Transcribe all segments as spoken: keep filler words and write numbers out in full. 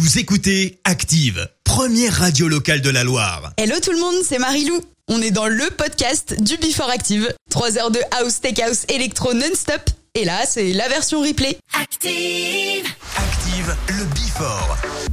Vous écoutez Active, première radio locale de la Loire. Hello tout le monde, c'est Marie-Lou. On est dans le podcast du Before Active. trois heures de house, tech house, électro non-stop. Et là, c'est la version replay. Active. Active, le Before.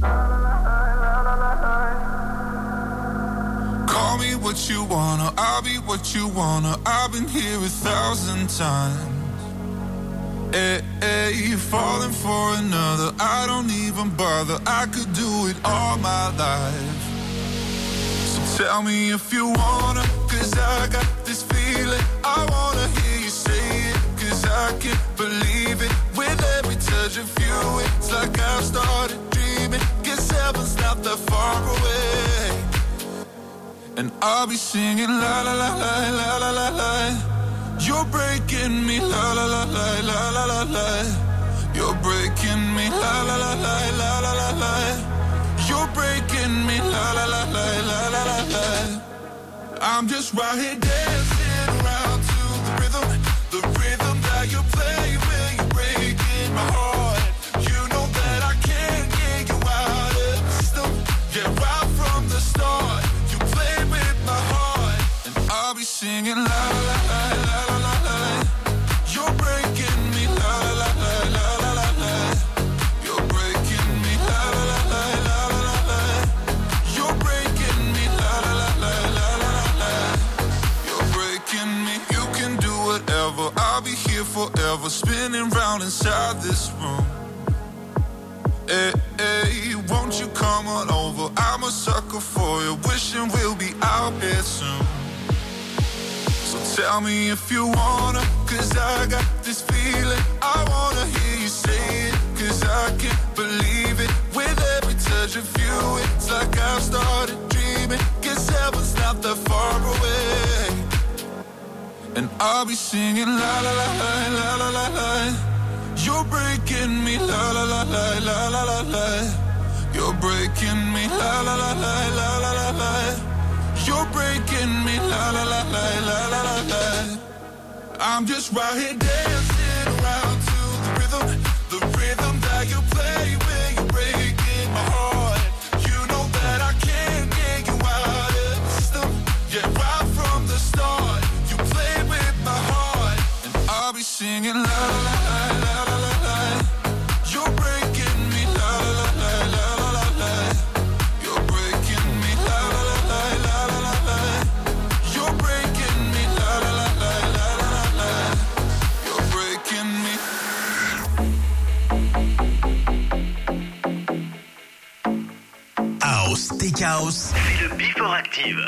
Call me what you wanna, I'll be what you wanna. I've been here a thousand times. Hey, hey, you're falling for another. I don't even bother. I could do it all my life. So tell me if you wanna, cause I got this feeling. I wanna hear you say it, cause I can't believe it. With every touch of you, it's like I've started dreaming. Guess heaven's not that far away. And I'll be singing la la la la la la la la. You're breaking me la la la la la la la la. You're breaking me la la la la la la la la. You're breaking me la la la la la la la la. I'm just right here dancing around to the rhythm, the rhythm that you play when you're breaking my heart. You know that I can't get you out of the system. Yeah, right from the start. I'll be singing la la la la la la la. You're breaking me la la la la la la la. You're breaking me la la la la la la la. You're breaking me la la la la la la la. You're breaking me. You can do whatever. I'll be here forever, spinning round inside this room. Hey, hey, won't you come on over? I'm a sucker for you, wishing we'll be out here soon. Tell me if you wanna, cause I got this feeling. I wanna hear you say it, cause I can't believe it. With every touch of you, it's like I've started dreaming. Guess heaven's not that far away. And I'll be singing la la la la la la la la. You're breaking me la la la la la la la la. You're breaking me la la la la la la la la. You're breaking me, la la la la la la la la. I'm just right here dancing around to the rhythm, the rhythm that you play when you're breaking my heart. You know that I can't get you out of the system. Yeah, right from the start, you play with my heart, and I'll be singing la la la la la la la. You're breaking me, la la la la la la la. You're breaking me, la la la la la la la la. You're breaking me, la la la la la la la la. You're breaking me. House, Tech House. C'est le Before Active.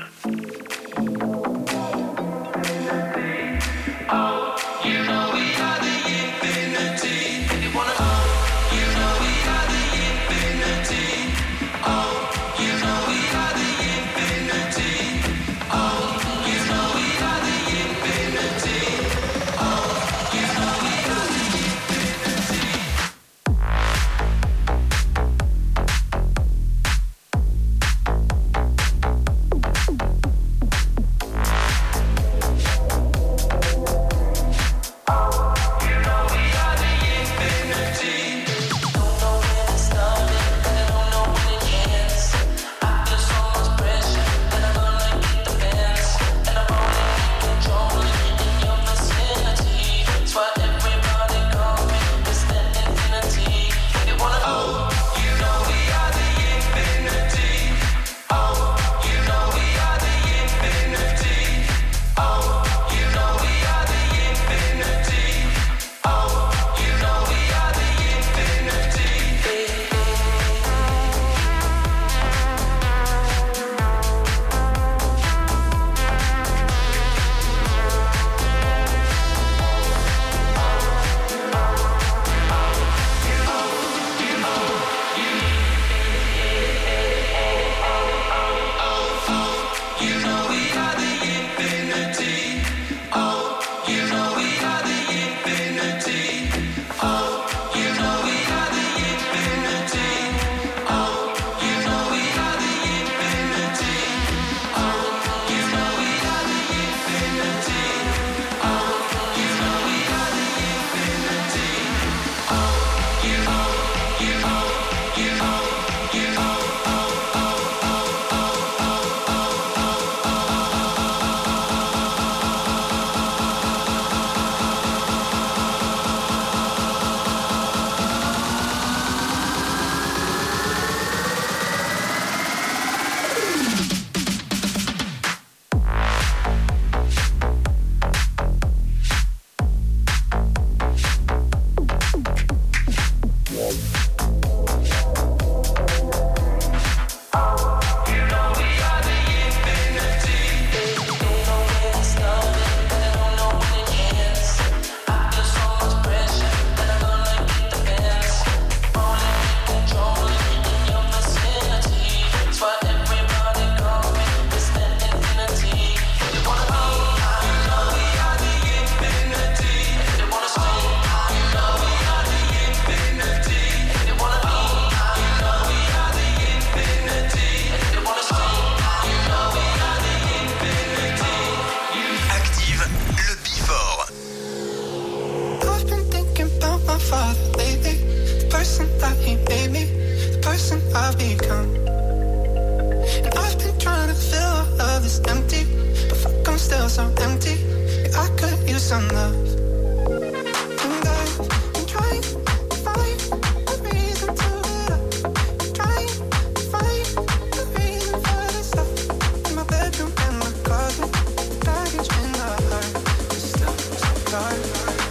I've become. And I've been trying to fill all of this empty, but fuck, I'm still so empty. Yeah, I could use some love. And I've been trying to find a reason to get up. I'm trying to find a reason for this stuff. In my bedroom and my closet, baggage in my heart. It's still so dark.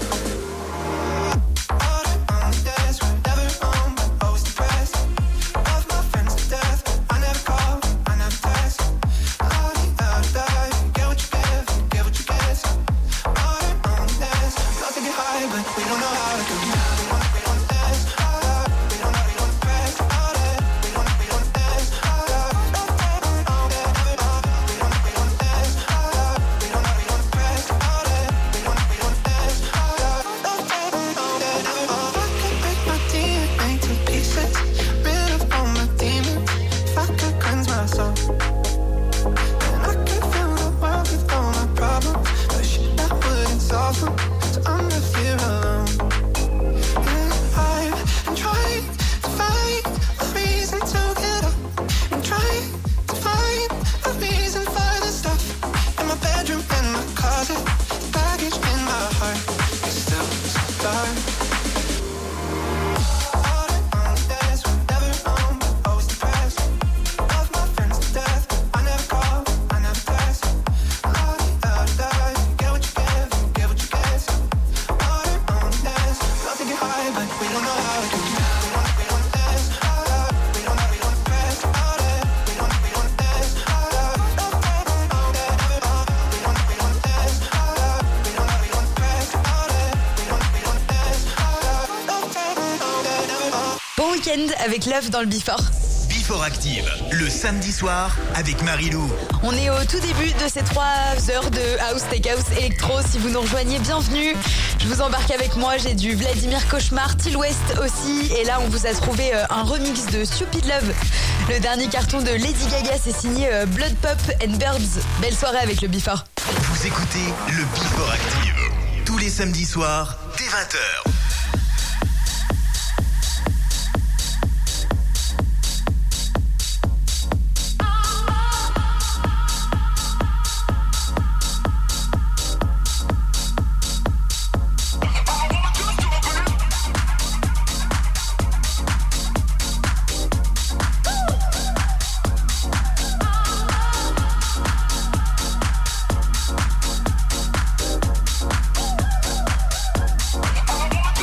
Avec Love dans le Before. Before Active, le samedi soir avec Marie-Lou. On est au tout début de ces trois heures de House, Tech House, Electro. Si vous nous rejoignez, bienvenue. Je vous embarque avec moi, j'ai du Vladimir Cauchemar, Till West aussi. Et là, on vous a trouvé un remix de Stupid Love. Le dernier carton de Lady Gaga, c'est signé Blood Pop and Birds. Belle soirée avec le Before. Vous écoutez le Before Active, tous les samedis soirs, dès vingt heures. I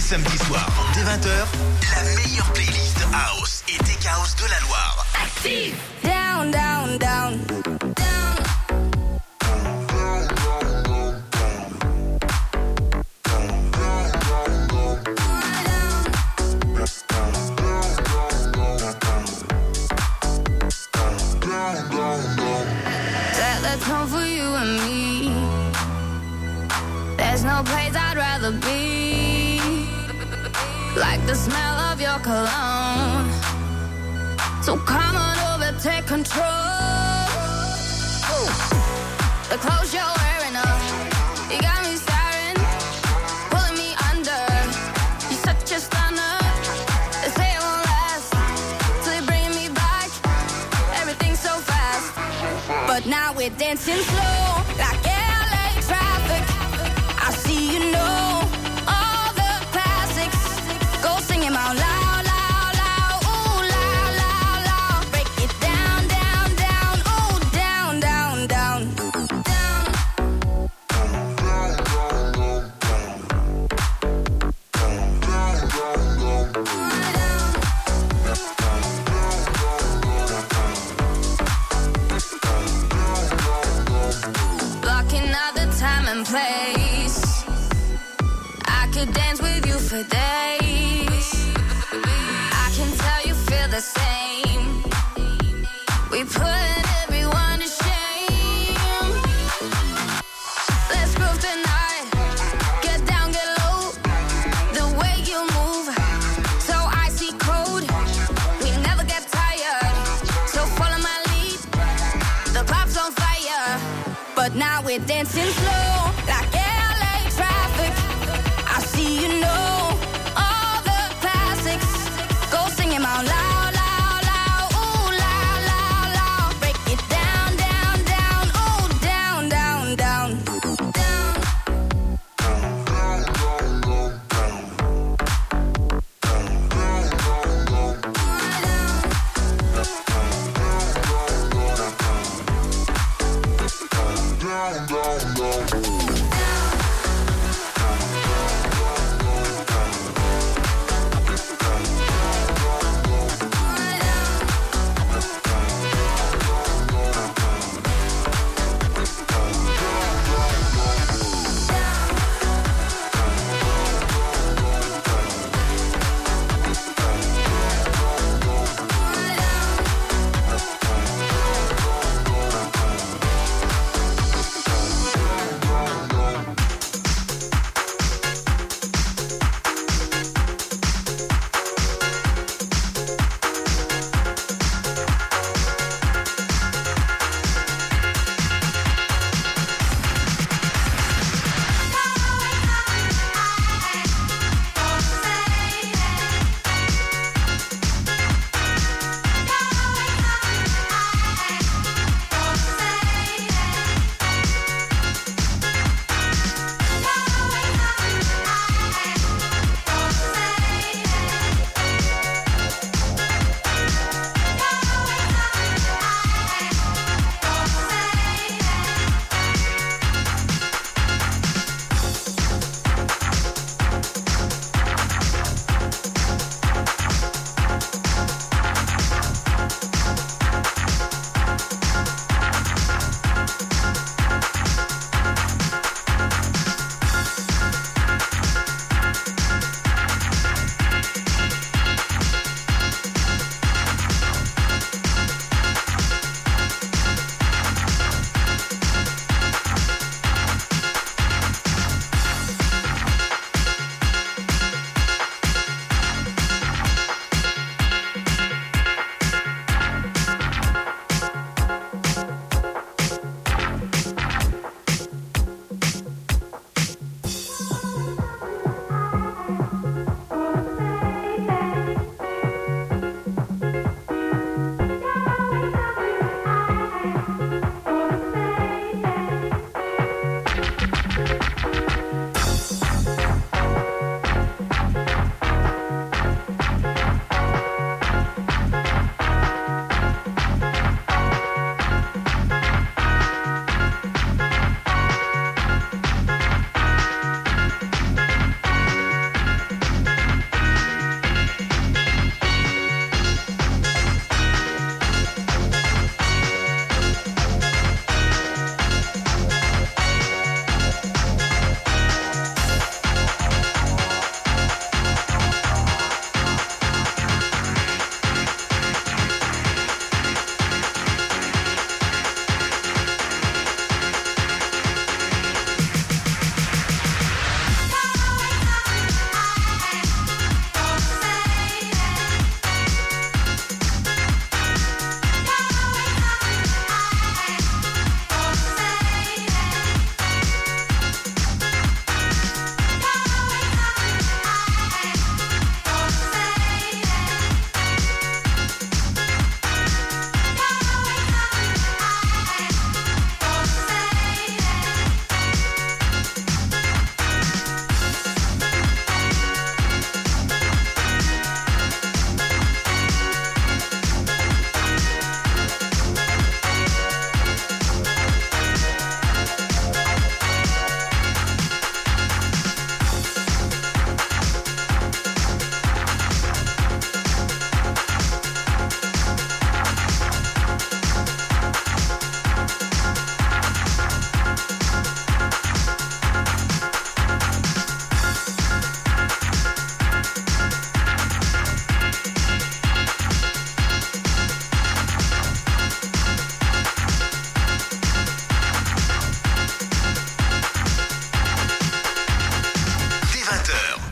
samedis soirs, dès vingt heures, la meilleure playlist House et Tech House de la Loire. Active. Down, down, down, down. Set the tone for you and me. There's no place I'd rather be. Like the smell of your cologne. So come on over, take control. The clothes you're wearing up, you got me staring, pulling me under. You're such a stunner. They say it won't last, till they bring me back. Everything's so fast, but now we're dancing slow, like L A traffic. I see you know all the classics. Go sing 'em out loud. Place. I could dance with you for days. I can tell you feel the same. We put everyone to shame. Let's groove tonight. Get down, get low. The way you move, so icy cold. We never get tired, so follow my lead. The club's on fire, but now we're dancing slow. Like L A traffic, I see you know all the classics. Go sing 'em out loud, loud, loud, ooh, loud, loud, loud. Break it down, down, down, ooh, down, down, down, down.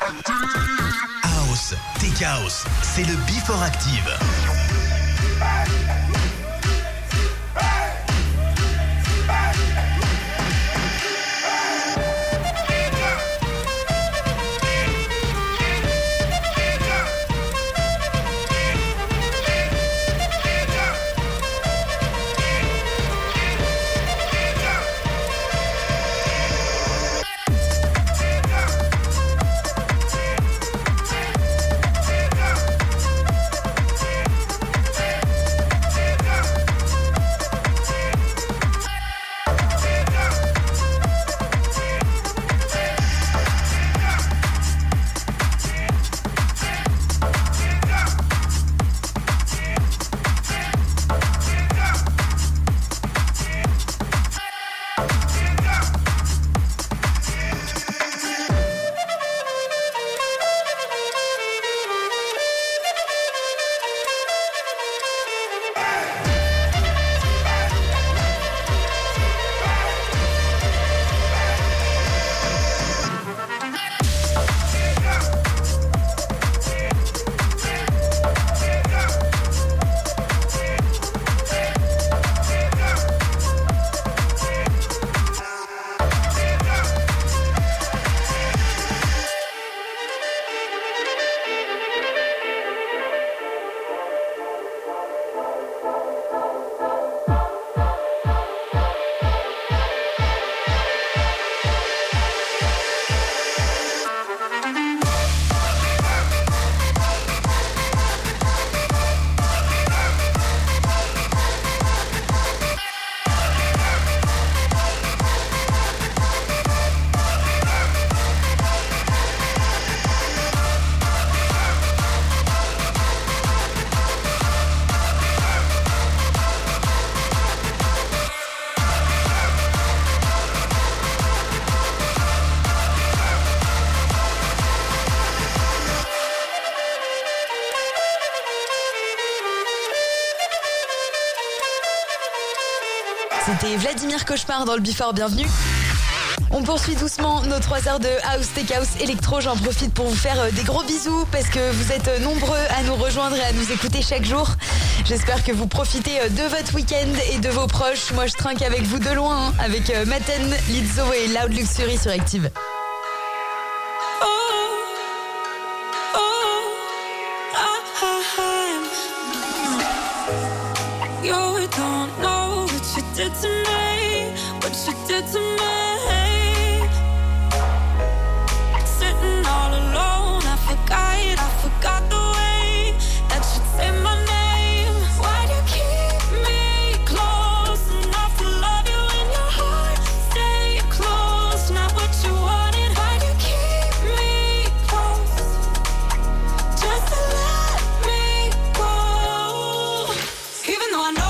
House, Tech House, c'est le Before Active. C'était Vladimir Cauchemar dans le Before, bienvenue. On poursuit doucement nos trois heures de House, Tech House, Electro. J'en profite pour vous faire des gros bisous parce que vous êtes nombreux à nous rejoindre et à nous écouter chaque jour. J'espère que vous profitez de votre week-end et de vos proches. Moi, je trinque avec vous de loin, hein, avec Maten, Lizzo et Loud Luxury sur Active. Did to me, what you did to me. Sitting all alone, I forgot, I forgot the way that you say my name. Why do you keep me close enough to love you in your heart? Stay close, not what you wanted. Why do you keep me close? Just to let me go. Even though I know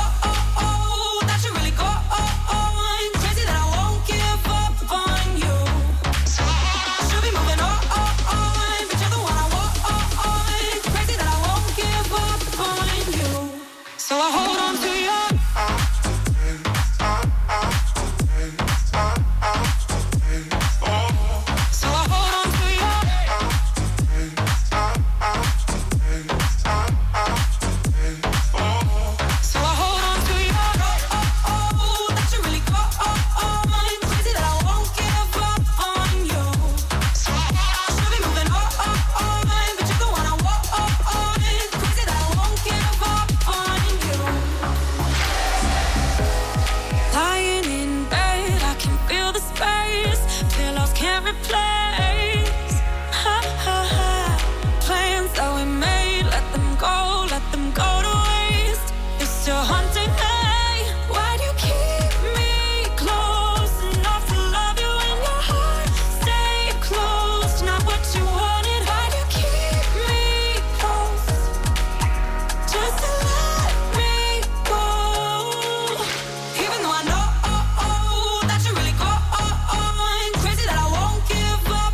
give up.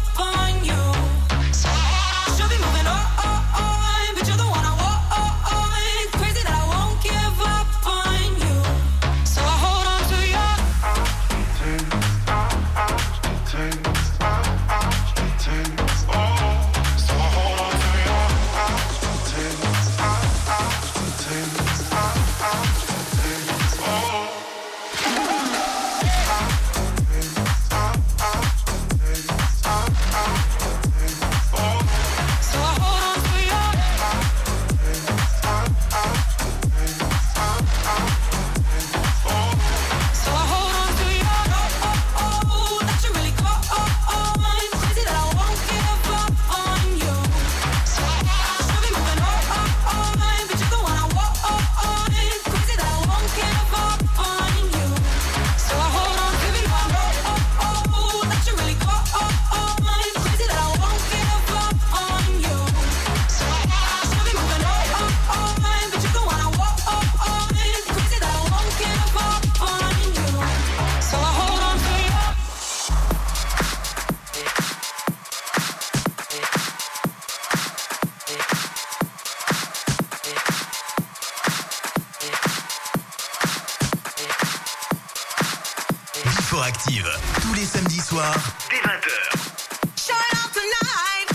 sur Active. Tous les samedis soirs, dès vingt heures. Show it off tonight,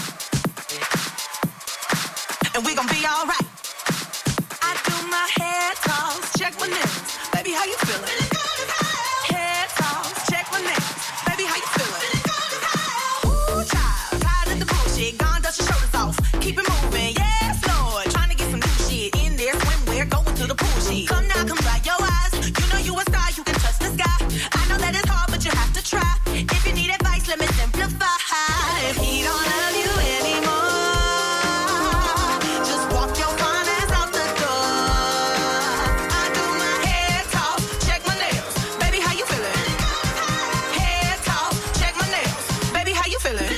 and we gon' be alright. I do my head toss, check my nails, baby, how you feeling? Head toss, check my nails, baby, how you feeling? Ooh, child, tired of the bullshit, gone dust your shoulders off, keep it moving, yes, Lord, trying to get some new shit in there, swimwear, going to the pool shit. Come now, come dry your eyes, you know you a star, you can touch the sky. I know that it's hard, but you have to try. If you need advice, let me simplify. If he don't love you anymore, just walk your fine ass out the door. I do my head toss, check my nails, baby, how you feeling? Head toss, check my nails, baby, how you feeling?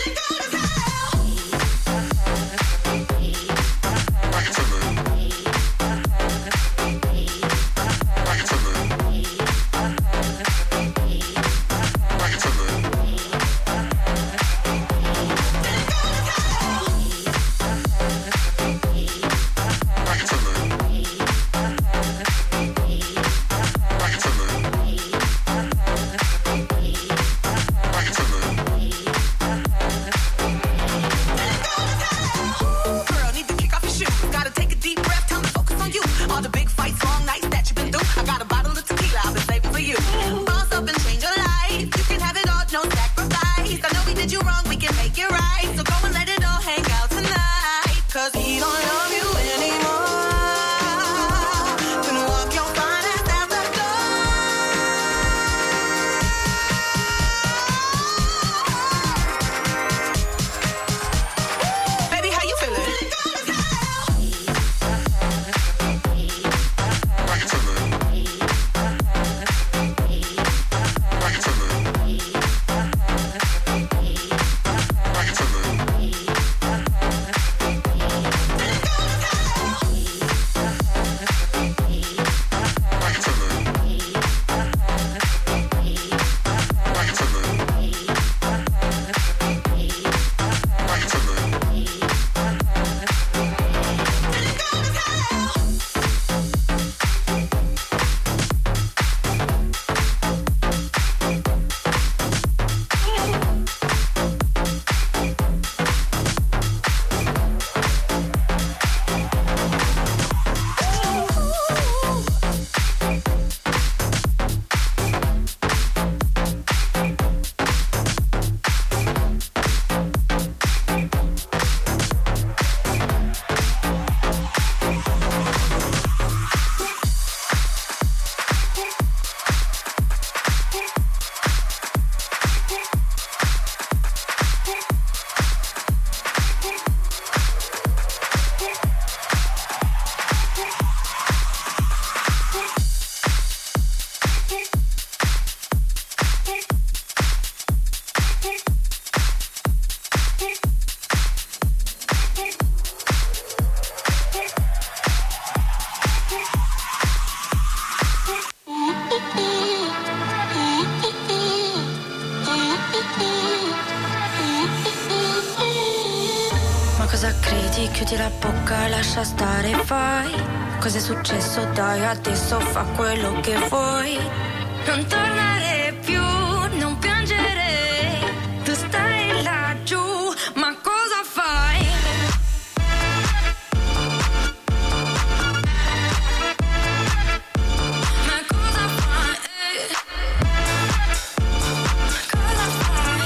Girl, need to kick off your shoes. Gotta take a deep breath, time to focus on you. All the big fights, long nights that you've been through. I got a bottle of tequila I've been saving for you. Boss up and change your life. You can have it all, no sacrifice. I know we did you wrong, we can make it right. So go and let it all hang out tonight. Cause he don't love you anymore. Then walk your fine ass out the door. Baby, how you feeling? Ma cosa credi? Chiudi la bocca, lascia stare, vai. Cos'è successo? Dai, adesso fa quello che vuoi. Non tornare più, non piangere. Tu stai laggiù, ma cosa fai? Ma cosa fai? Cosa fai?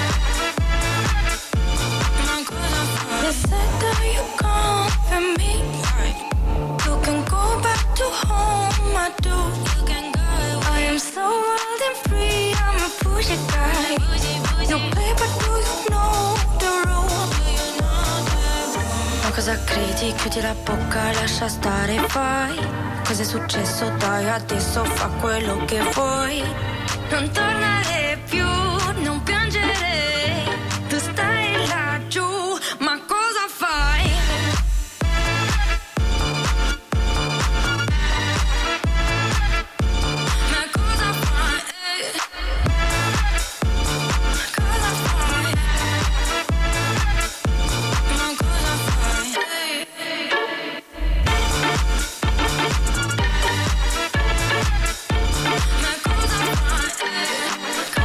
Ma cosa fai? They said that you come for me. You can go back to home, I do. You can go. I am so wild and free, I'm a pushy guy. You play, but do you know the rules? Ma cosa credi? Chiudi la bocca, lascia stare, vai. Cos'è successo? Dai, adesso fa quello che vuoi. Non tornare più, non piangere. Tu stai laggiù, ma cosa fai? Ma cosa fai? Cosa fai? Ma cosa fai? Ma cosa fai?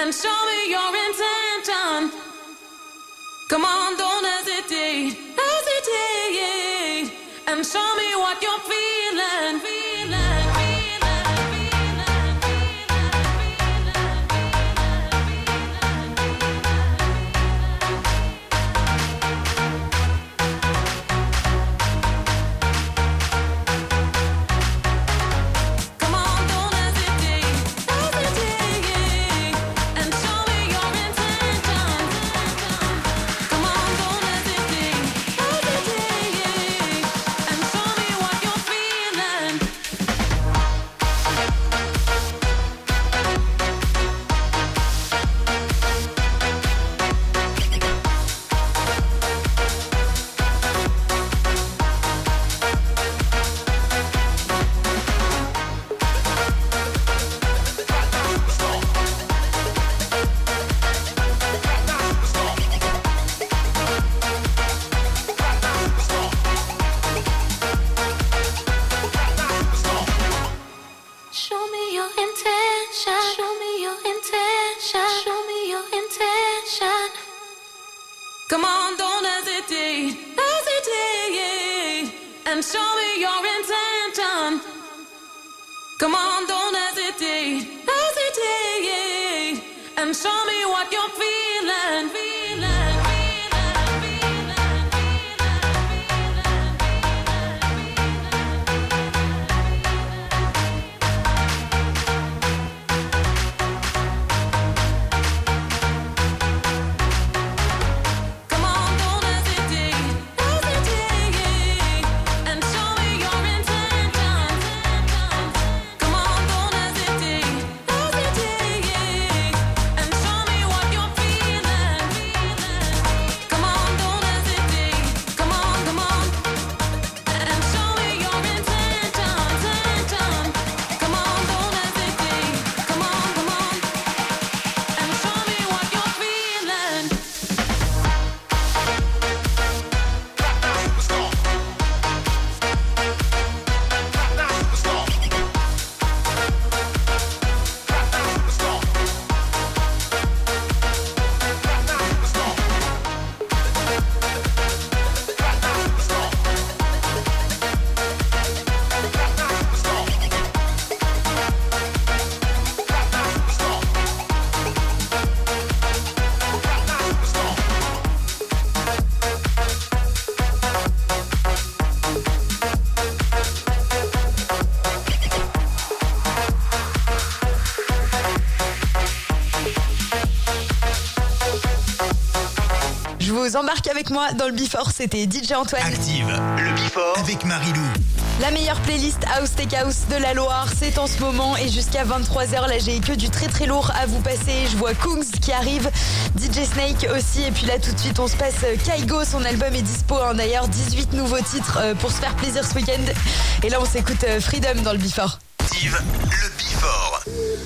and show me your intention. Come on, don't hesitate, hesitate, and show me what you're feeling, feeling. Come on, don't hesitate, hesitate, and show me your intention. Come on, don't hesitate, hesitate, and show me what you're feeling, feeling. Embarque avec moi dans le Before, c'était D J Antoine. Active le Before avec Marilou. La meilleure playlist House Tech House de la Loire, c'est en ce moment et jusqu'à vingt-trois heures. Là, j'ai que du très très lourd à vous passer. Je vois Kungs qui arrive, D J Snake aussi. Et puis là, tout de suite, on se passe Kaigo. Son album est dispo. Hein. D'ailleurs, dix-huit nouveaux titres pour se faire plaisir ce week-end. Et là, on s'écoute Freedom dans le Before. Active le Before.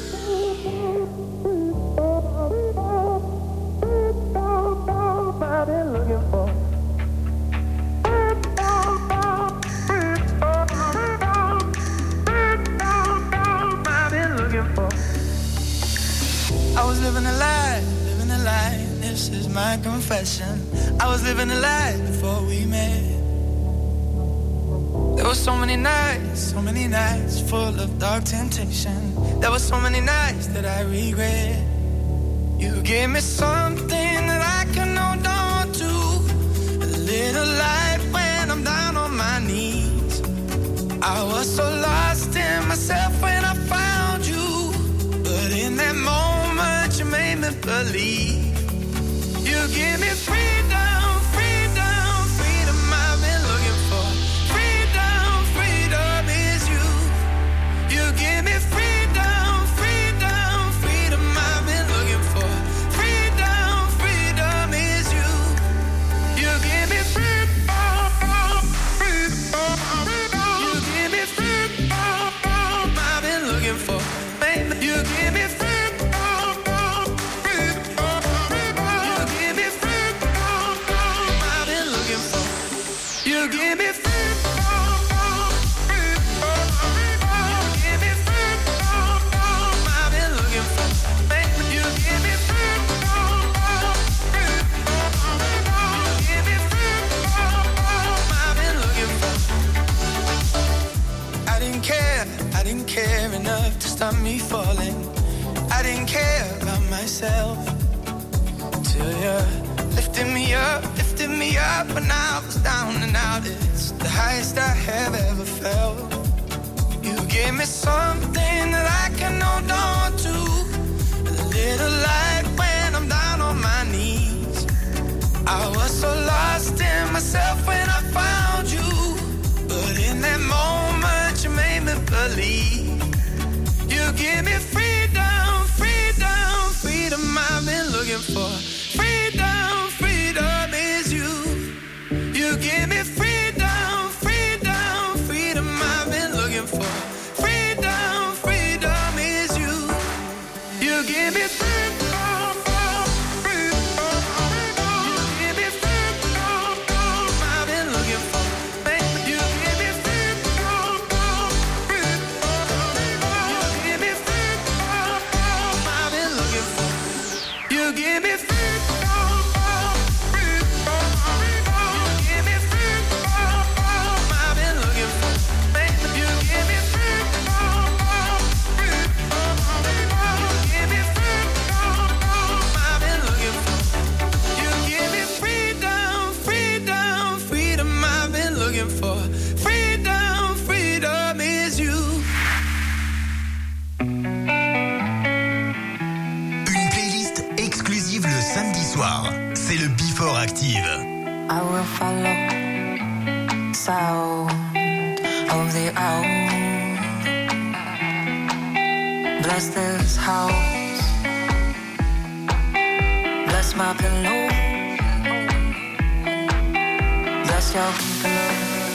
I was living a lie, living a lie, this is my confession. I was living a lie before we met. There were so many nights, so many nights full of dark temptation. There were so many nights that I regret. You gave me something that I can hold on to, a little light when I'm down on my knees. I was so lost in myself when I found you, but in that moment you made me believe. You give me freedom, freedom, freedom I've been looking for. Freedom, freedom is you. You give me freedom, freedom, freedom I've been looking for. Freedom, freedom is you. You give me freedom, freedom, freedom. You give me freedom I've been looking for. Baby, you give me freedom. didn't care enough to stop me falling. I didn't care about myself till you lifted me up, lifted me up when I was down and out. It's the highest I have ever felt. You gave me something that I can hold on to, a little light when I'm down on my knees. I was so lost in myself when I found you, but in that moment you made me believe. You give me freedom, freedom, freedom I've been looking for. Freedom, freedom is you. You give me freedom, freedom, freedom I've been looking for. Freedom, freedom is you. You give me freedom. C'est le Before Active. I will follow sound of the owl. Bless this house. Bless my pillow. Bless your pillow.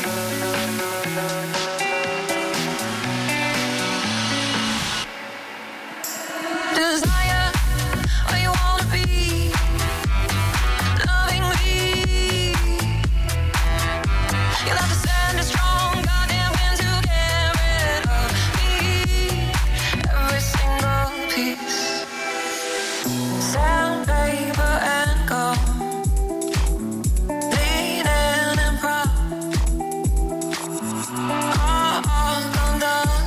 Desire where you wanna be. You'll have to send a strong goddamn wind to get rid of me. Every single piece. Sandpaper and gold. Bleeding and proud. All, all gone done.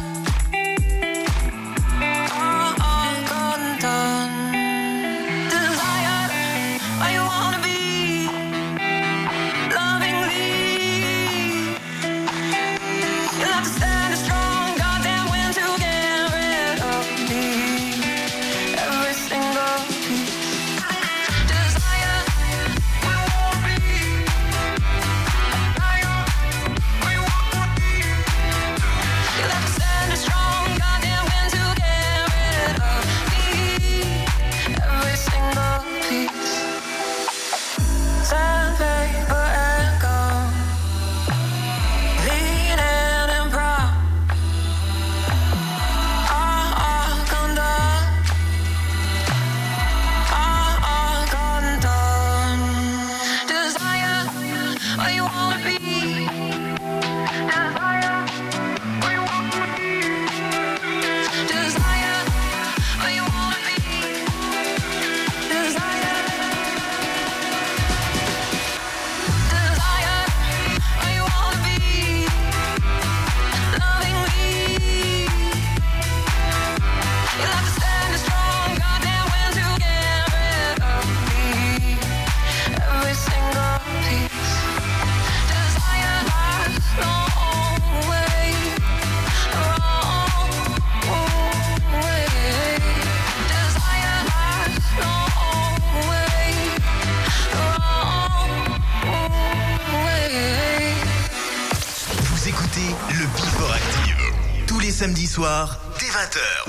All, all gone done. Desire where you wanna be. Lovingly. You'll have to stand a strong goddamn wind to get rid of me. Every single piece. Desire, we won't be. Desire, we won't be. You'll have to stand a strong goddamn wind to get rid of me. Every single piece. Sandpaper and gold. Bleeding and proud. All, all gone done. All, all gone done. Desire where you wanna be. Desire where you wanna be. Desire where you wanna be. Desire. Desire where you wanna be. Lovingly. You'll have to stand a strong goddamn wind to get rid of me. Every single piece. Desire lies long way, wrong way. Desire lies long way, wrong way. Vous écoutez le Before Active. Tous les samedis soirs, dès vingt heures.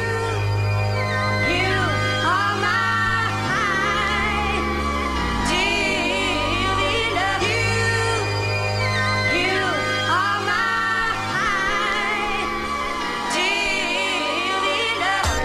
You are mine. Dearly love you. You are mine. Dearly love.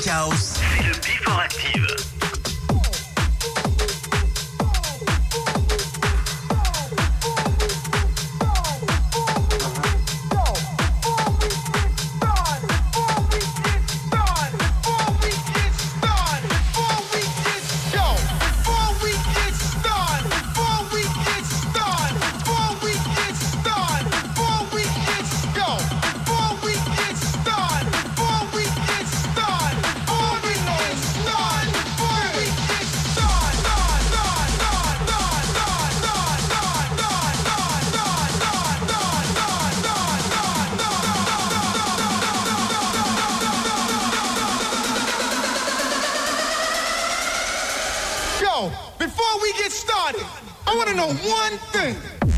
House, c'est le Before Active. Before we get started, I want to know one thing.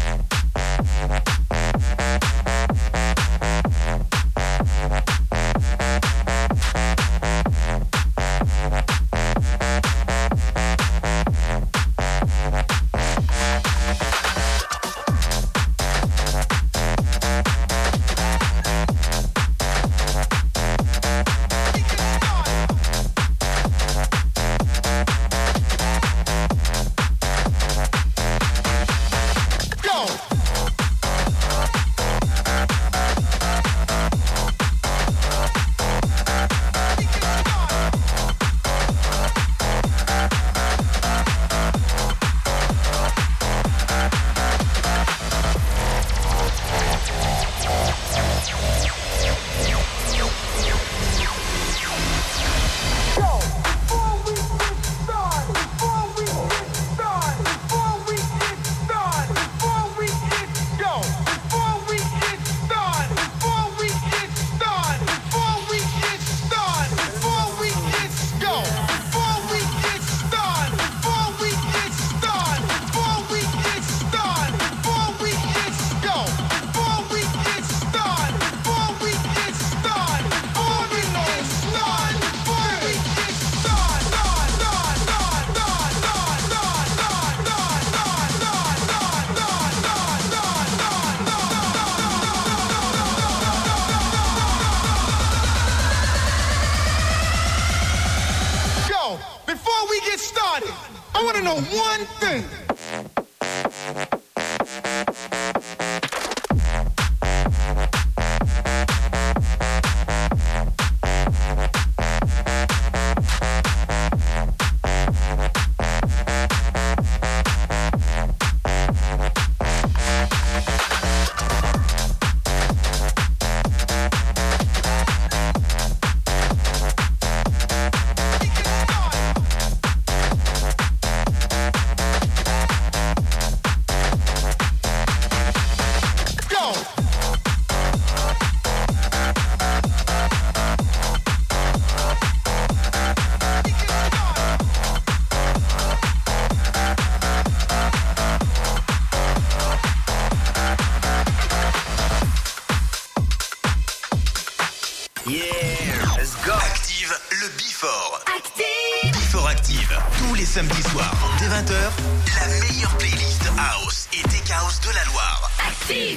Samedi soir, dès vingt heures, la meilleure playlist House et Tech House de la Loire. Active!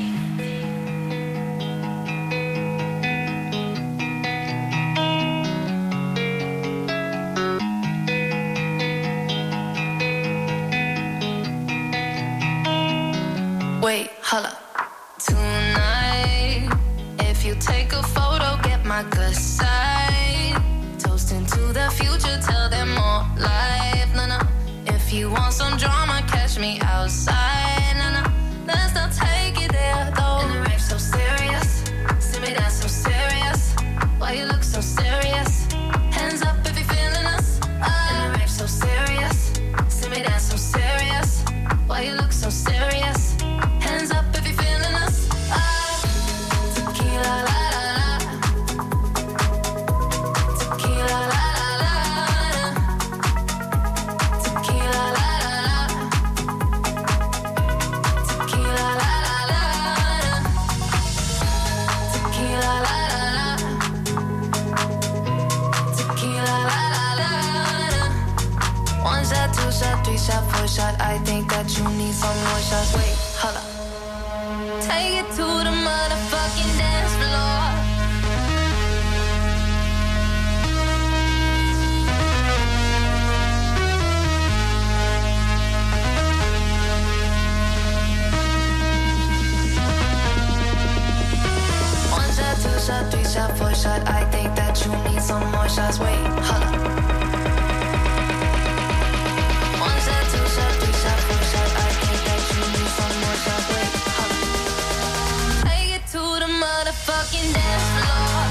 Wait, holla. Tonight, if you take a photo, get my good side. Toasting to the future, tell them more life. No, no. If you want some drama, catch me outside. No, no. Let's not take it there, though. And the rape so serious. See me that's so serious. Why you look so serious? Hands up if you're feeling us. Oh. And the rape so serious. See me that's so serious. Why you look so serious? Hands up if you're feeling us. Oh. Tequila, la la la. Tequila, la la la. Tequila, la la la. Tequila, la la la. Tequila, la la la. Tequila, la la la. One shot, two shot, three shot, four shot. I think that you need some more shots. Wait, hold up. Take it to the motherfucking dance floor. shot, four shot. I think that you need some more shots. Wait, hold up. One shot, two shot, three shot, four shot. I think that you need some more shots. Wait, hold up. Take it to the motherfucking dance floor.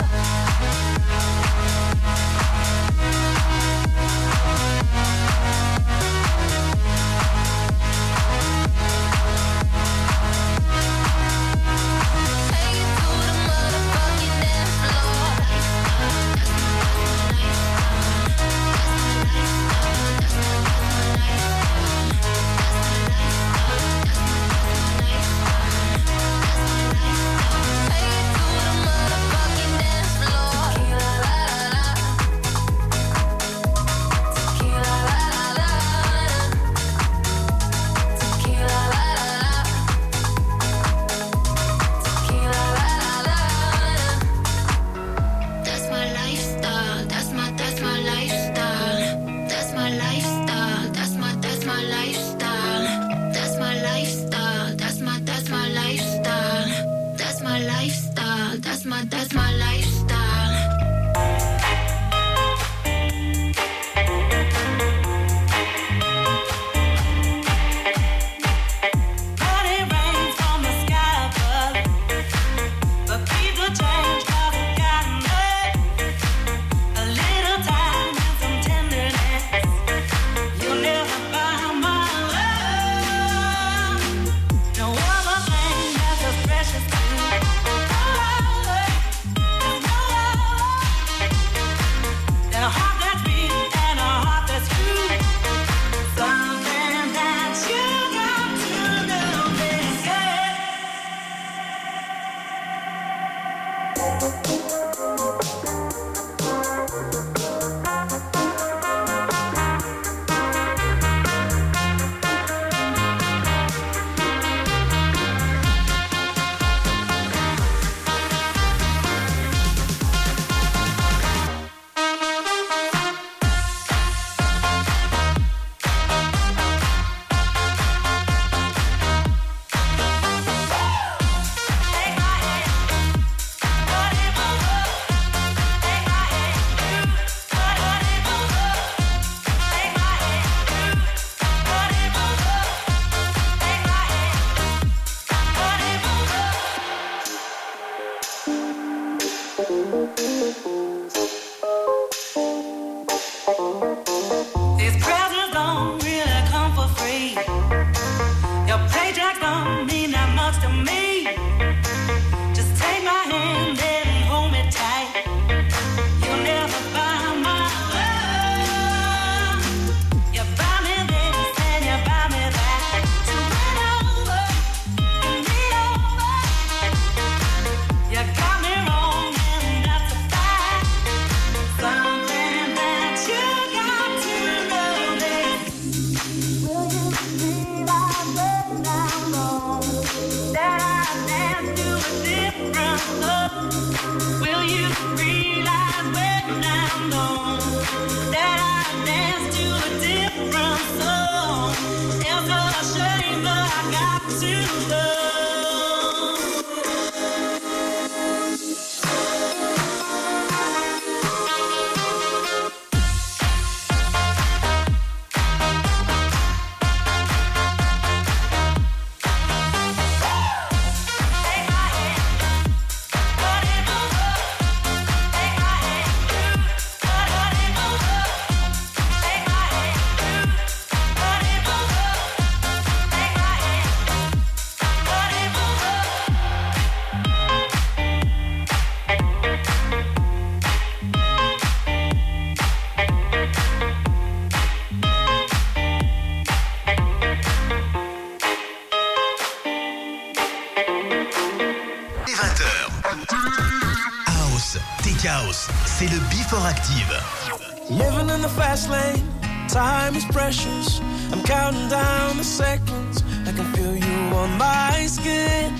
C'est le Before Active. Living in the fast lane, time is precious. I'm counting down the seconds. I can feel you on my skin.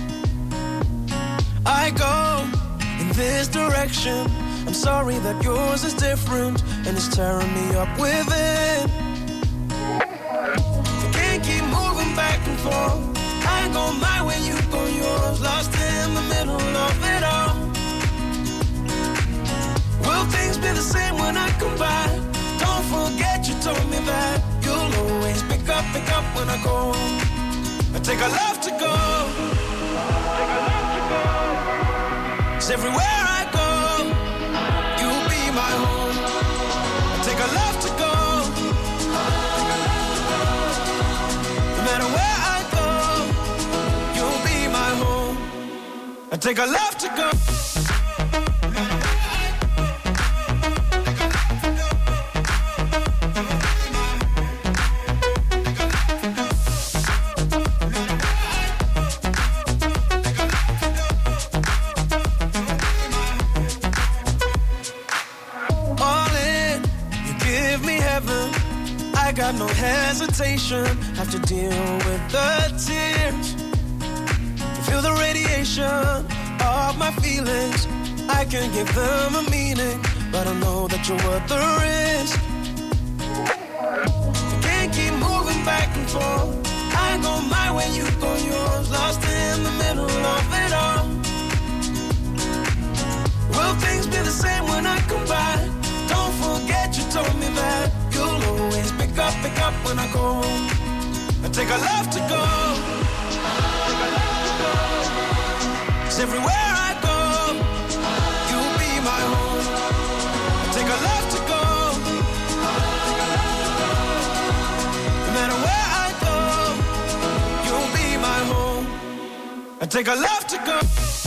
I go in this direction. I'm sorry that yours is different and it's tearing me up within. You can't keep moving back and forth. I go my way, you go yours. Lost in the middle of it all. when I go. I take a left to go. Take a left to go. 'Cause everywhere I go, you'll be my home. I take a left to go. No matter where I go, you'll be my home. I take a left to go. I got no hesitation, have to deal with the tears. Feel the radiation of my feelings. I can give them a meaning, but I know that you're worth the risk. I can't keep moving back and forth. I go my way, you go yours, lost in the middle of it all. Will things be the same when I come by? Don't forget you told me that you'll always pick up, pick up when I go. I take a left to go. Cause everywhere I go, you'll be my home. I take a left to go. No matter where I go, you'll be my home. I take a left to go.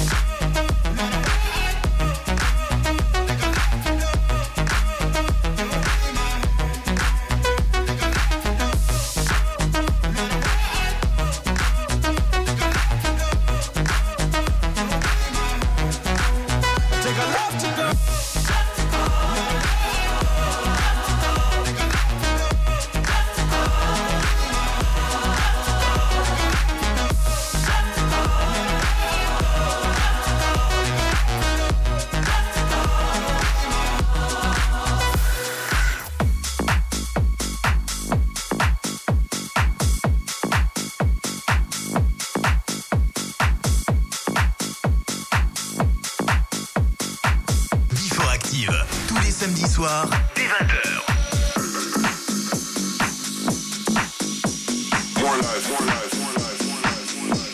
Samedi soir, dès vingt heures. More life, more life, more life, more life, more life.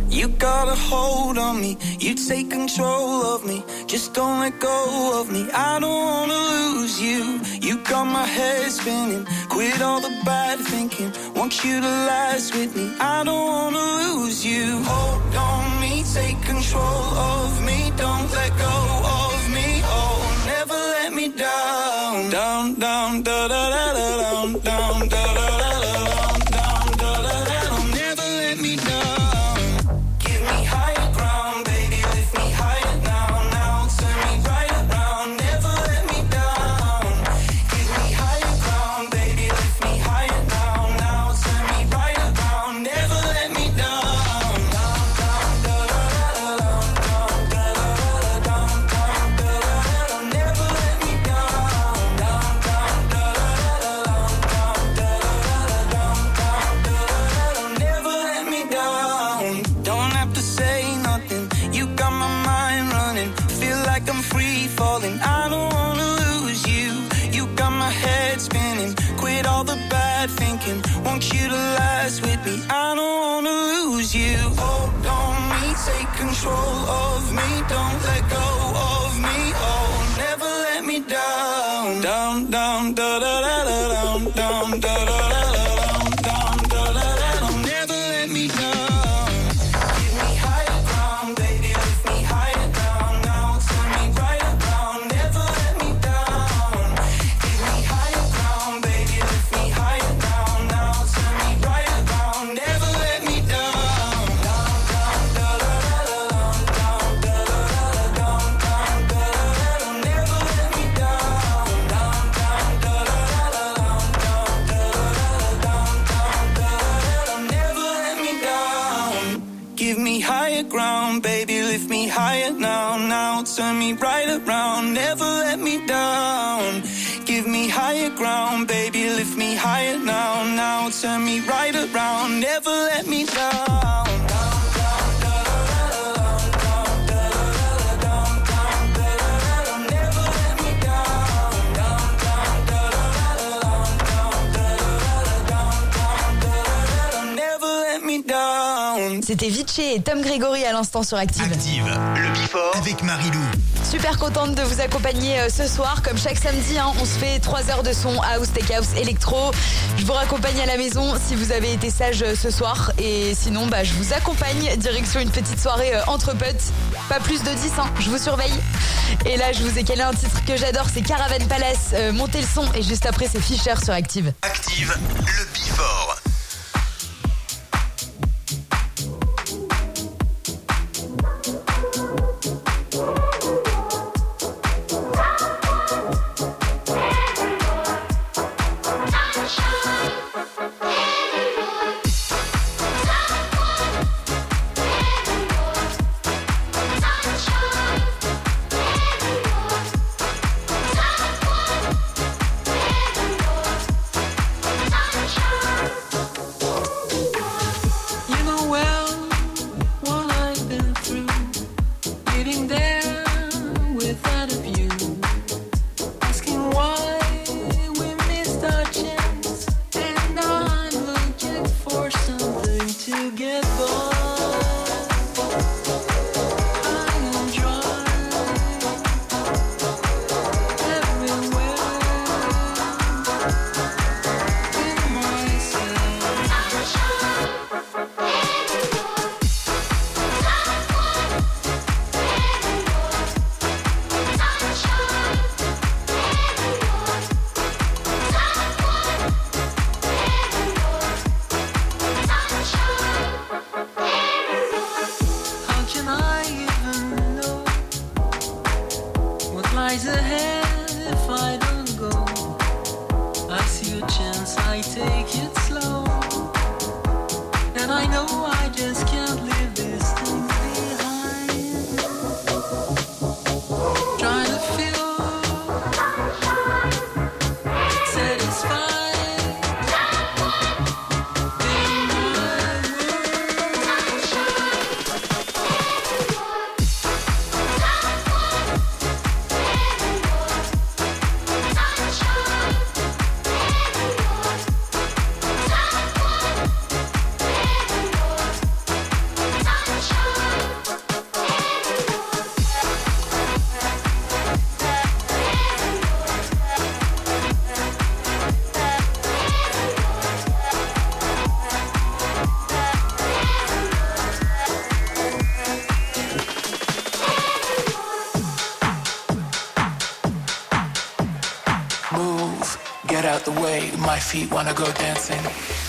You got a hold on me, you take control of me. Just don't let go of me, I don't wanna lose you. You got my head spinning, quit all the bad thinking. Want you to last with me, I don't wanna lose you. Hold on me, take control of me. Don't let go of me, oh, never let me down. Down, down, da da da da down, down, da da da da down, down, da da da da. Never let me down. Give me higher ground, baby, lift me higher now, now. Turn me right around, never let me down. Give me higher ground, baby, lift me higher now, now. Turn me right around, never let me down. Down, down, da da da da down, down, da da da da down, down, da da da da. Never let me down. Down, down, da da da da down, down, da da da da down, down, da da da da. Never let me down. Don't have to say nothing, you got my mind running. Feel like I'm free falling, I don't wanna lose you. You got my head spinning, quit all the bad thinking. Want you to last with me, I don't wanna lose you. Hold on me, take control of me. Don't let go of me, oh, never let me down. Down, down, da da da da down, down, da da da da down, down, da da da da. Never let me down. Give me higher ground, baby, lift me higher down, now. Turn me right around, never let me down. Give me higher ground, baby, lift me higher down, now. Turn me right around, never let me down. Down, down, da da da da down, down, da da da da down, down, da da da da. Never let me down. Down, down, da da da da down, down, da da da da down, down, da da da da. Never let me down. Give me higher ground, baby, lift me higher now, now. Turn me right around, never let me down. Give me higher ground, baby, lift me higher now, now. Turn me right around, never let me down. Down, down, da da da da down, down, da da da da down, down, da da da da. Never let me down. Down, down, da da da da down, down, da da da da down, down, da da da da. Never let me down. C'était Vichy et Tom Grégory à l'instant sur Active. Active, le Before avec Marilou. Super contente de vous accompagner euh, ce soir. Comme chaque samedi, hein, on se fait trois heures de son house, tech house, électro. Je vous raccompagne à la maison si vous avez été sage euh, ce soir. Et sinon, bah, je vous accompagne direction une petite soirée euh, entre potes. Pas plus de dix, hein, je vous surveille. Et là, je vous ai calé un titre que j'adore, c'est Caravan Palace. Euh, montez le son et juste après, c'est Fisher sur Active. Active, le Before. You know well what I've been through, getting there without a view, asking why we missed our chance, and now I'm looking for something to get by. I am dry everywhere in myself. How can I even know what lies ahead if I don't go? I see a chance, I take it slow, and I know I just can't leave this thing behind. Trying to feel satisfied in my world. out the way, my feet wanna go dancing.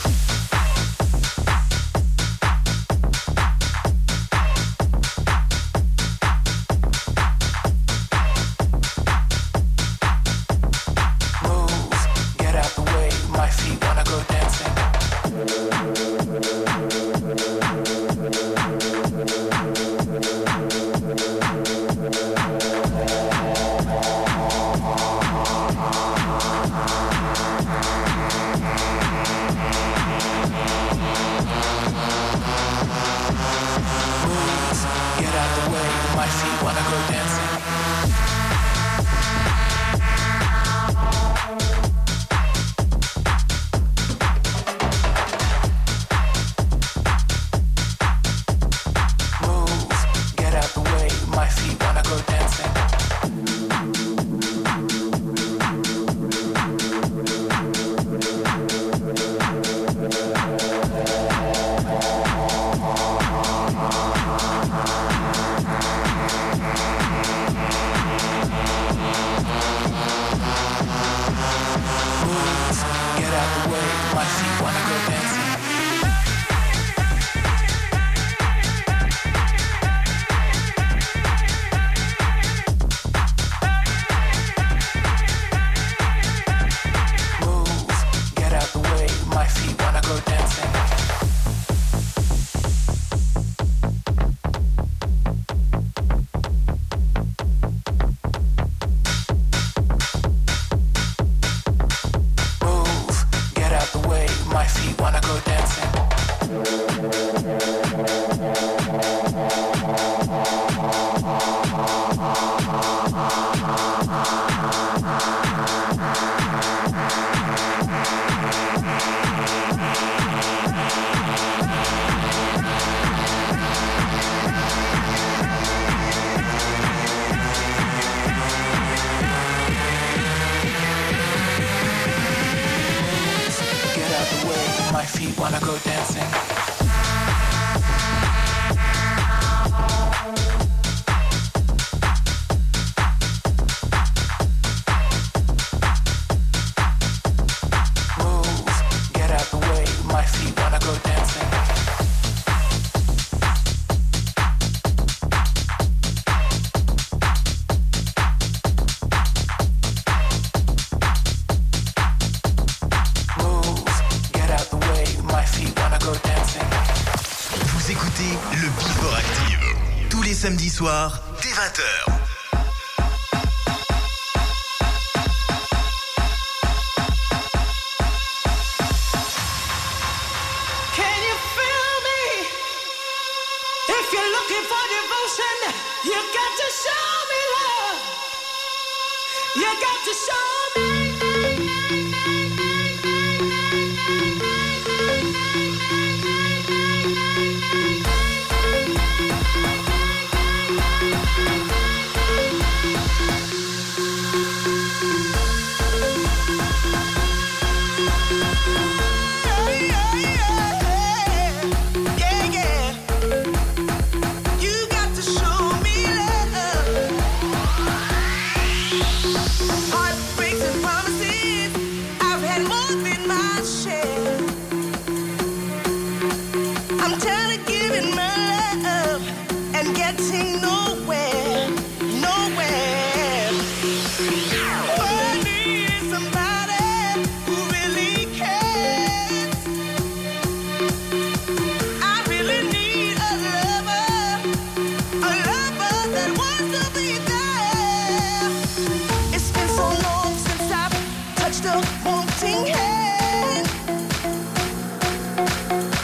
Samedi soir, dès vingt heures.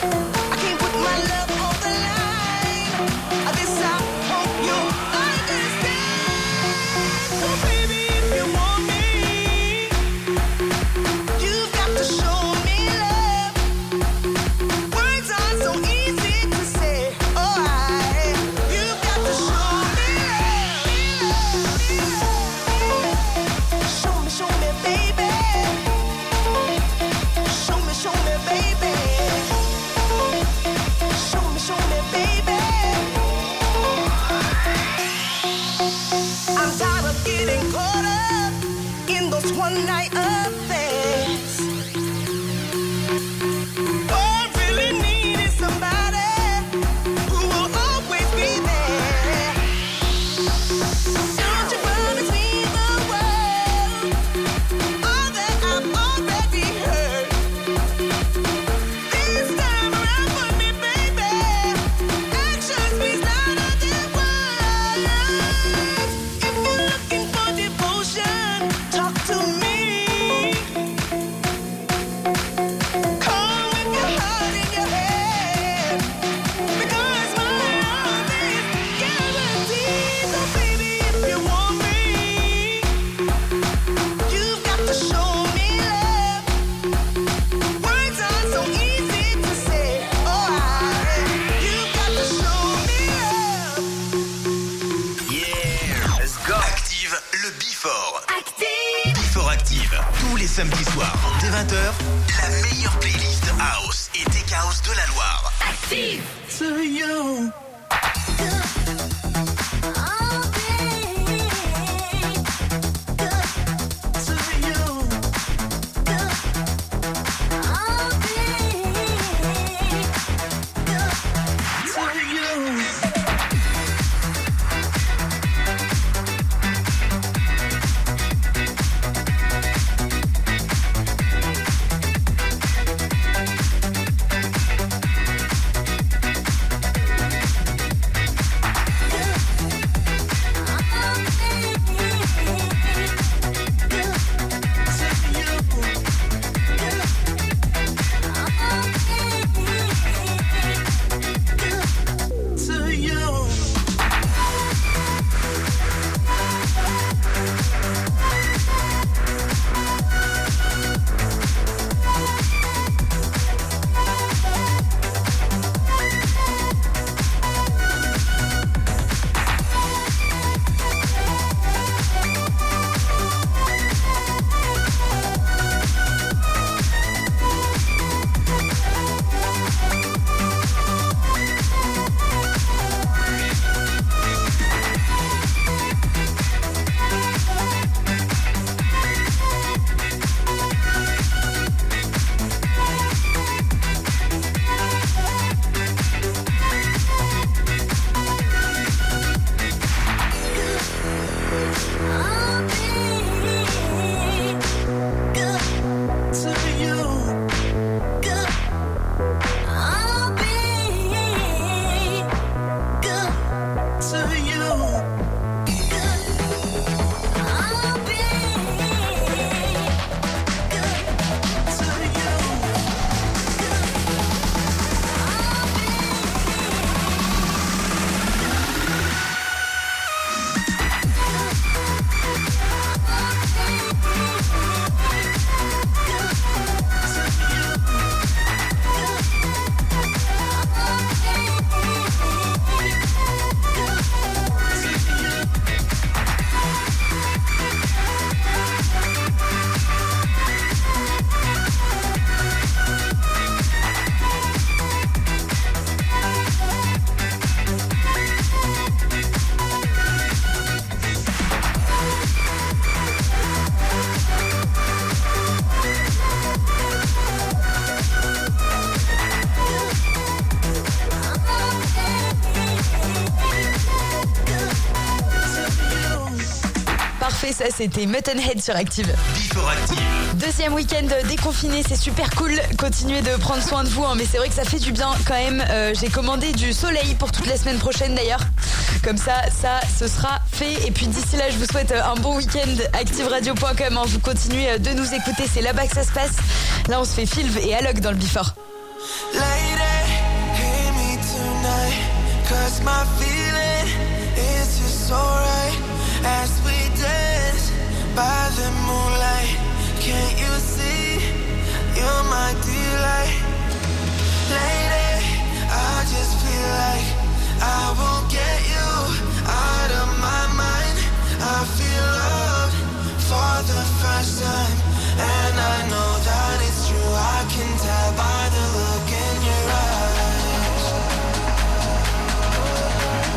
I can't put my love on the line. This I hope you'll understand. samedi soir, dès vingt heures, la meilleure playlist House et Tech House de la Loire. Active. To you. Ça c'était Muttonhead sur Active. Before Active. Deuxième week-end déconfiné, c'est super cool. Continuez de prendre soin de vous, hein, mais c'est vrai que ça fait du bien quand même. Euh, j'ai commandé du soleil pour toute la semaine prochaine d'ailleurs. Comme ça, ça, ce sera fait. Et puis d'ici là, je vous souhaite un bon week-end. active radio point com, hein, vous continuez de nous écouter, c'est là-bas que ça se passe. Là, on se fait Filv et Alok dans le Before. Lady, hear me tonight, 'cause my feeling is just alright as we dance by the moonlight. Can't you see you're my delight? Lady, I just feel like I won't get you out of my mind. I feel love for the first time, and I know that it's true. I can tell by the look in your eyes.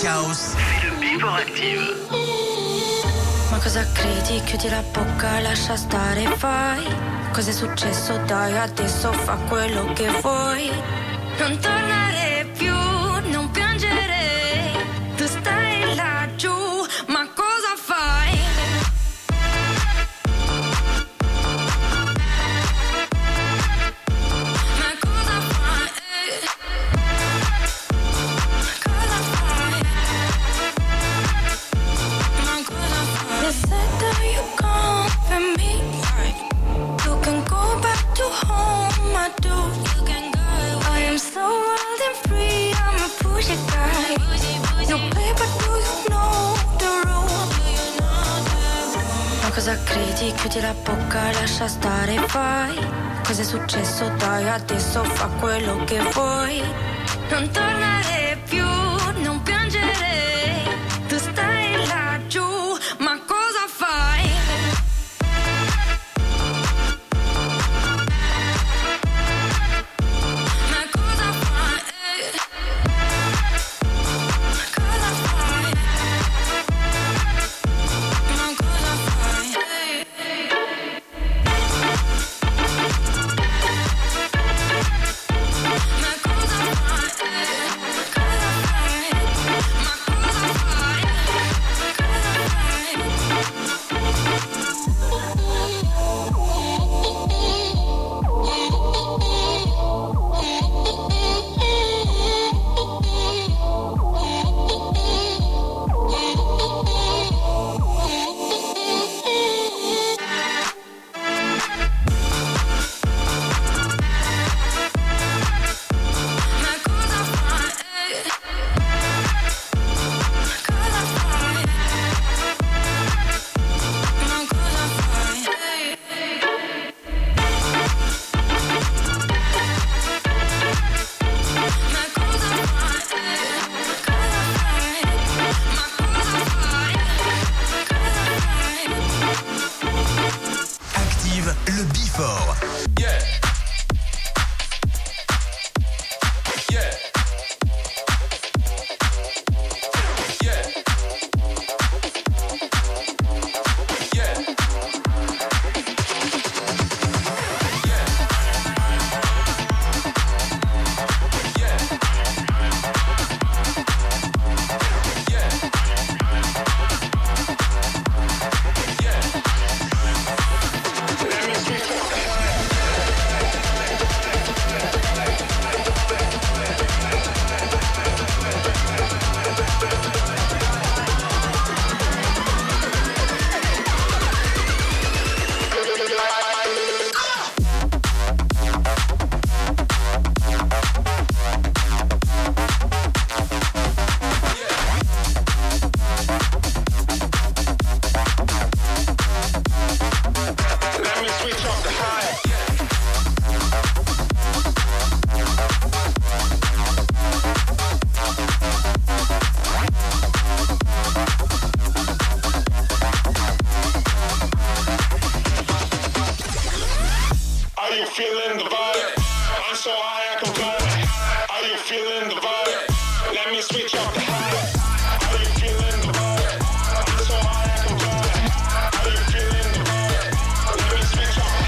House, c'est le Before Active. Ma cosa credi? Chiudi la bocca, lascia stare, fai. Cos'è successo? Dai, adesso fa quello che vuoi. Non tornare più, non piangere. Tu stai laggiù, ma cosa fai? Ma cosa fai? Cosa fai? Ma cosa fai? They said that you come for me. You can go back to home, I do. You can go. I am so wild and free, I'm a pushy guy. No paper, do you know the rule? Ma cosa credi? Chiudi la bocca, lascia stare, fai. Cos'è successo? Dai, adesso fa quello che vuoi. Non tornare più, non piangere. Tu stai laggiù, ma cosa fai? Ma cosa fai? Cosa fai? Ma cosa fai? Ma cosa fai? Cosa fai? Ma cosa fai? Active le Before. Yeah. Yeah. Yeah. Yeah. Are you feeling the vibe? I'm so high I can fly. Are you feeling the vibe? Let me switch up the high. Are you feeling the vibe? I'm so high I can fly. Are you feeling the vibe? Let me switch up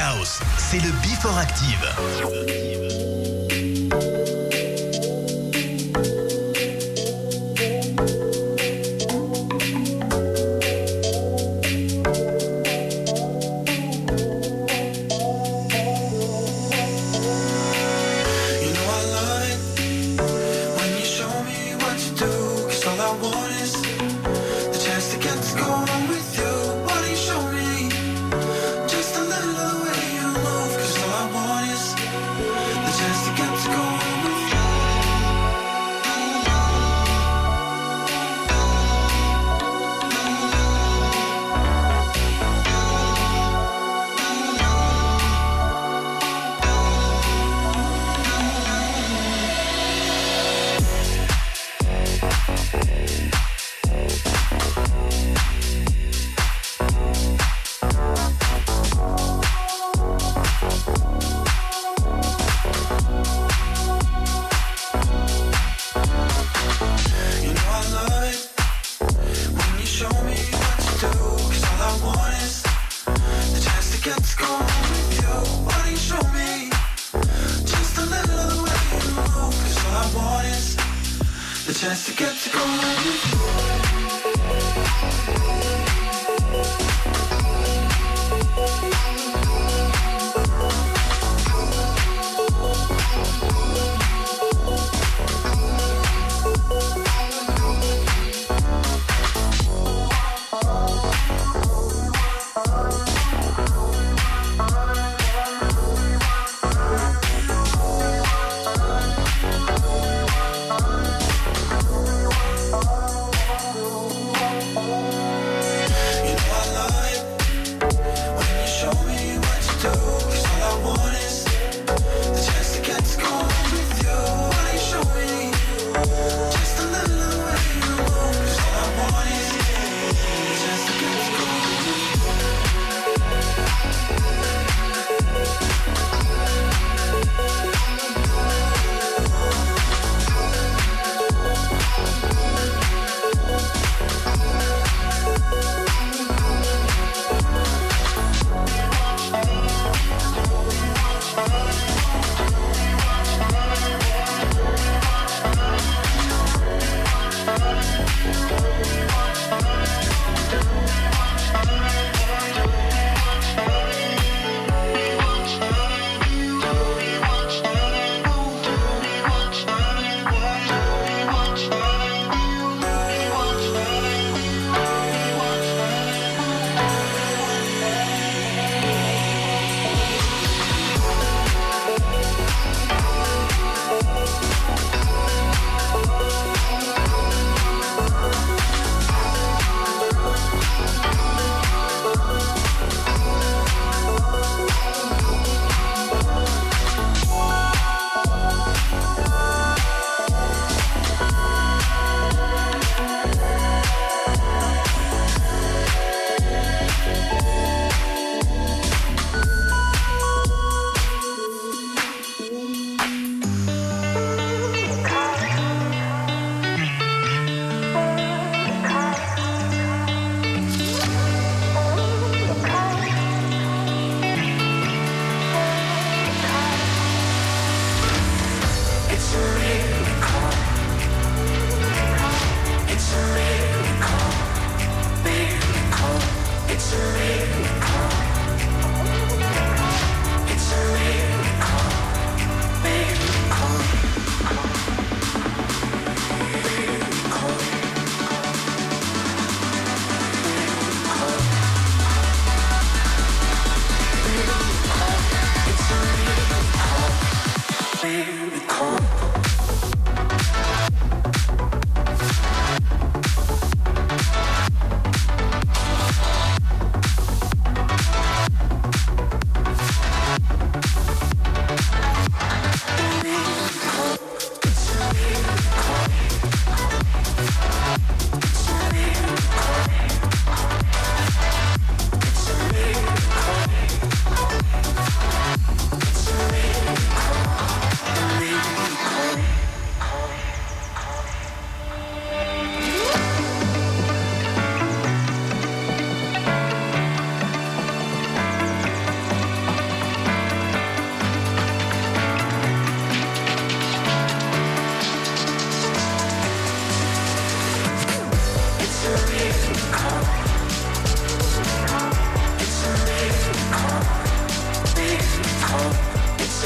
House, c'est le Before Active.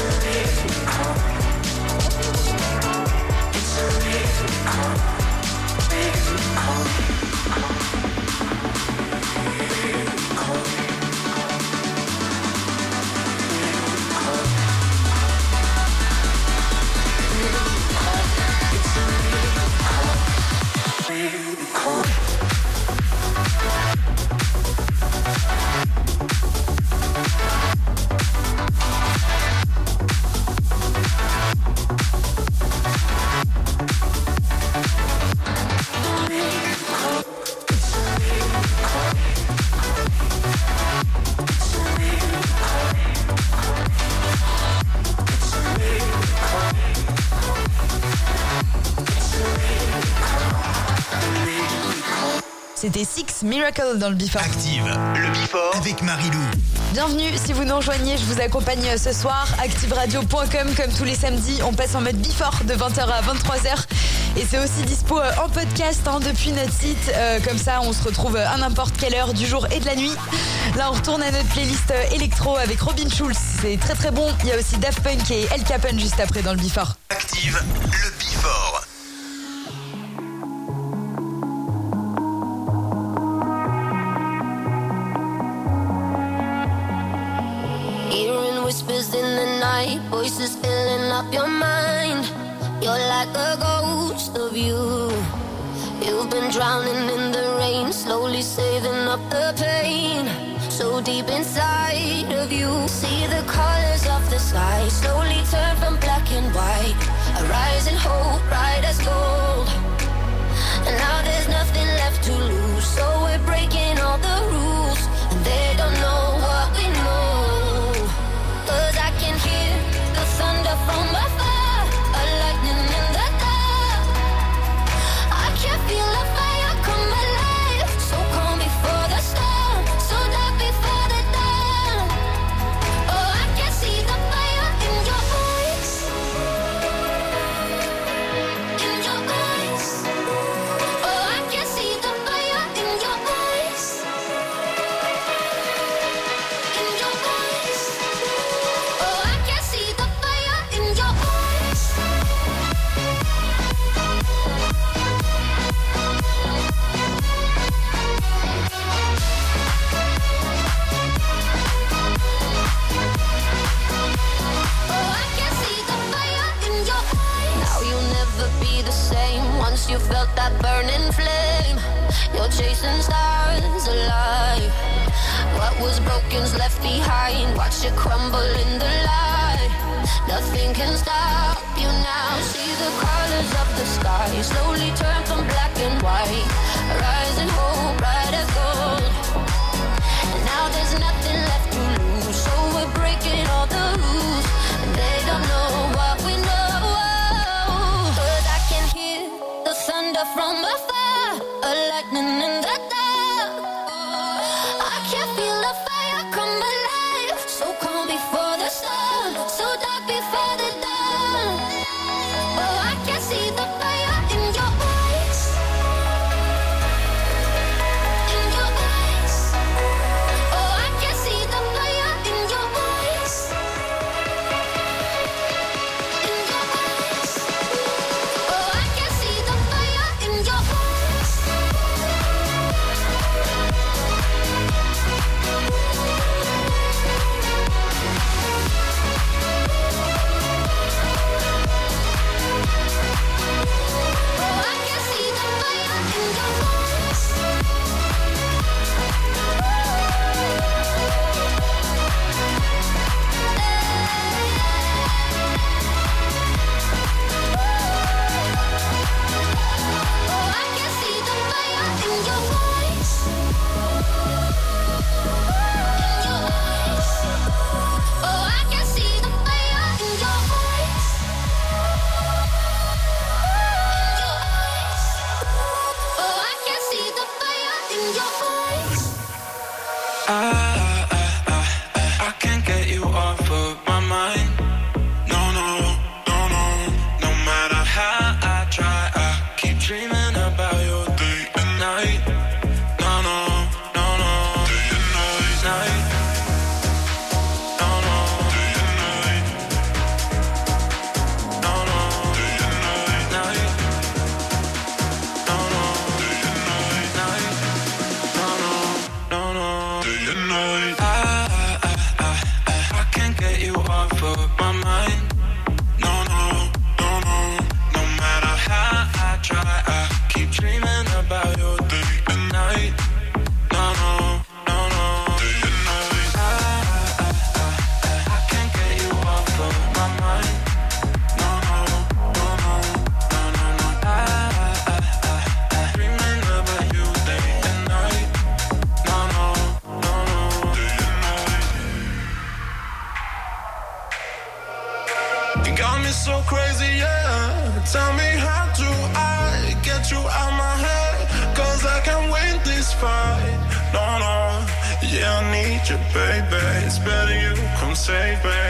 C'était Six Miracle dans le Before. Active, le Before avec Marilou. Bienvenue, si vous nous rejoignez, je vous accompagne ce soir. active radio point com, comme tous les samedis, on passe en mode Before de vingt heures à vingt-trois heures. Et c'est aussi dispo en podcast hein, depuis notre site. Euh, comme ça, on se retrouve à n'importe quelle heure du jour et de la nuit. Là, on retourne à notre playlist électro avec Robin Schulz. C'est très très bon. Il y a aussi Daft Punk et El Capone juste après dans le Before. Active, le Before. Whispers in the night, voices filling up your mind. You're like a ghost of you. You've been drowning in the rain, slowly saving up the pain. So deep inside of you, see the colors of the sky slowly turn from black and white. A rising hope, bright as gold. And now there's nothing left to lose, so we're breaking all the rules, and they don't know what we know. Cause I can hear the thunder from afar, a lightning in the dark. I can feel the fire come alive, so calm before the storm, so dark before the dawn. Oh, I can see the fire in your eyes, in your eyes. Oh, I can see the fire in your eyes, in your eyes. Oh, I can see the fire in your eyes. Oh, I can see the fire in your eyes. Now you'll never be the same once you felt that burning flame. You're chasing stars alive. What was broken's left behind. Watch it crumble in the light. Nothing can stop you now. See the colors of the sky slowly turn from black and white. Rising hope, bright as gold. And now there's nothing left to lose, so we're breaking all the rules, and they don't know what we know. Cause I can hear the thunder from afar, a lightning in the dark. I can feel the fire come alive, so calm before the storm, so dark before the dawn. Oh, I can see the fire in your eyes, off of my mind. No, no, no, no. No matter how I try, I keep dreaming about you day and night. No, no, no, no. Day and night. I, I, I, I, I can't get you off of my mind. No, no, no, no, no, no, no. I, I, I, I, dreaming about you day and night. No, no, no, no. Day and night. You got me so crazy, yeah. Tell me how do I get you out my head? Cause I can't win this fight. No, no, yeah, I need you, baby. It's better you come save me.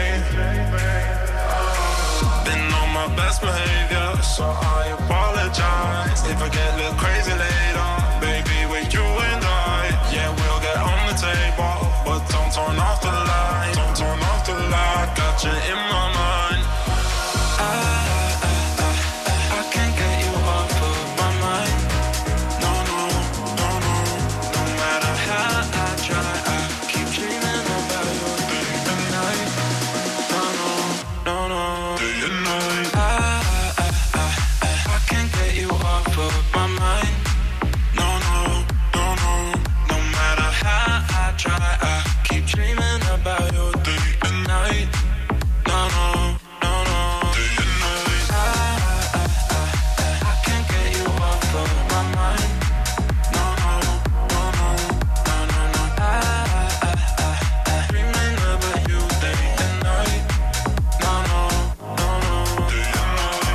Been on my best behavior, so I apologize. If I get a little crazy later, baby, with you and I, yeah, we'll get on the table. But don't turn off the light, don't turn off the light. Got you in my mind. I, I, I, I, I can't get you off of my mind. No, no, no, no. No matter how I try, I keep dreaming about you day and night. No, no, no, no. Day and night. I, I, I, I, I can't get you off of my mind. No, no, no, no. No matter how I try, I keep dreaming about you day and night. No, no, no, no. Day and night. I, I, I, I, I can't get you off of my mind. No, no, no, no, no, no, no. I, I, I, I, dreaming about you day and night. No, no, no, no. Day and night.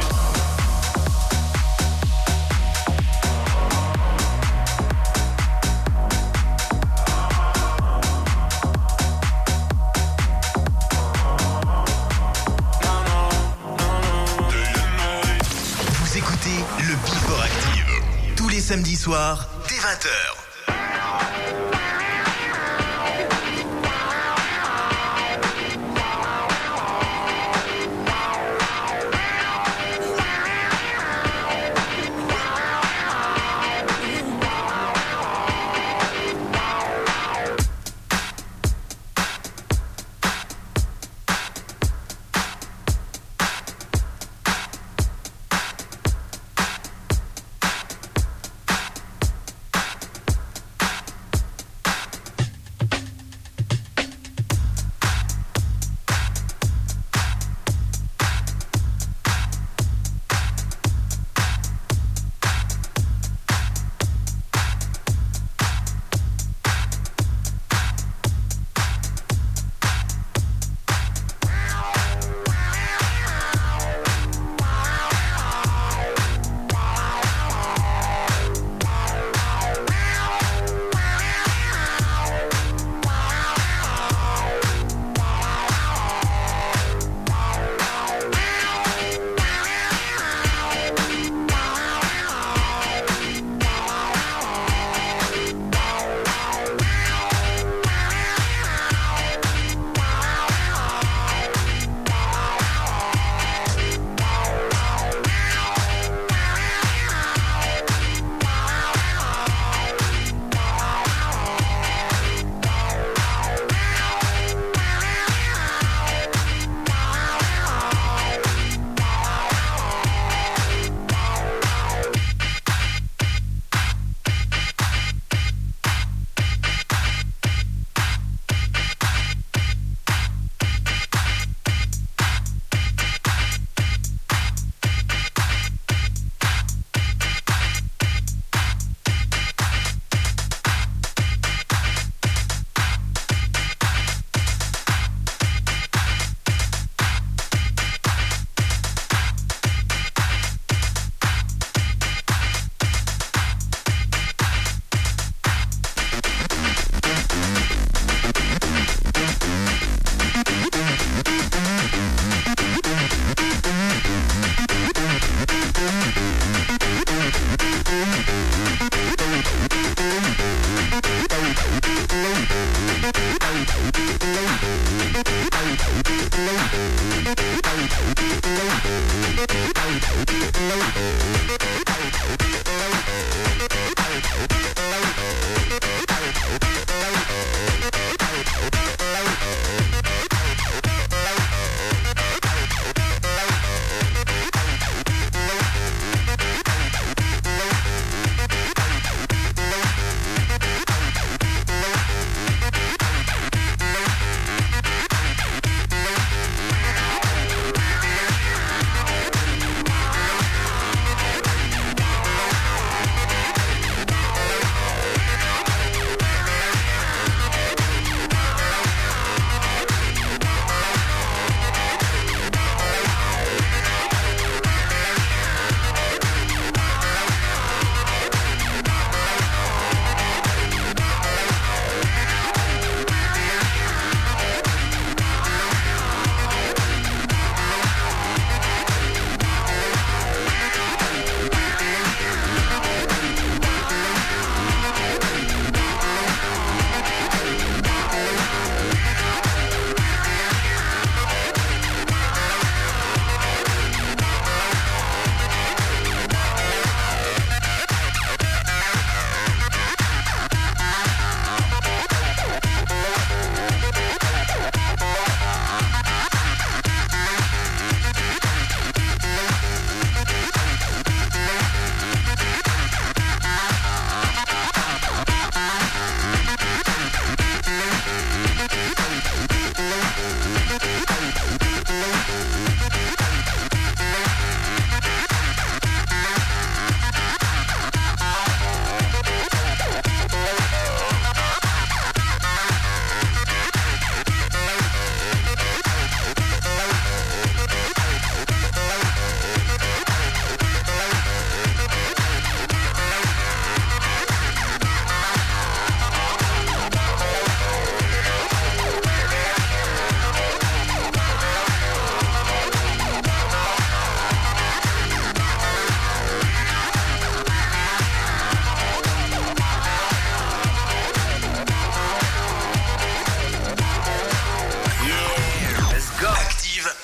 Vous écoutez le Before Active. Tous les samedis soirs, dès vingt heures.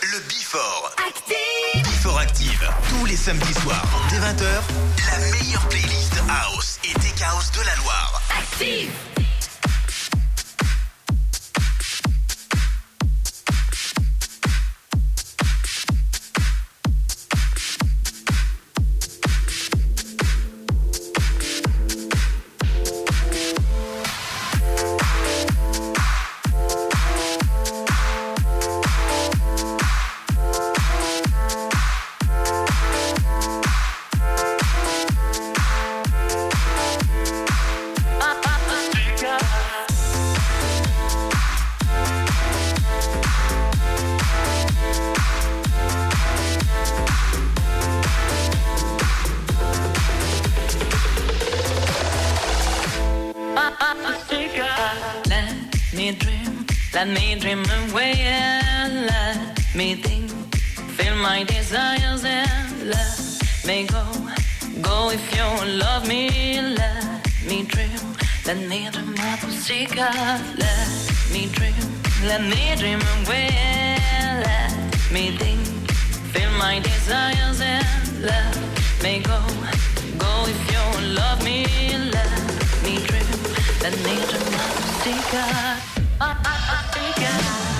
le Before. Active. Before Active, tous les samedis soirs, dès vingt heures, la meilleure playlist House et Tech House de la Loire. Active. Let me dream away and let me think. Feel my desires and let me go. Go if you love me, let me dream. Let me dream my pussycat. Let me dream. Let me dream away and let me think. Feel my desires and let me go. Go if you love me, let me dream. Let me dream my pussycat. I, I, I think I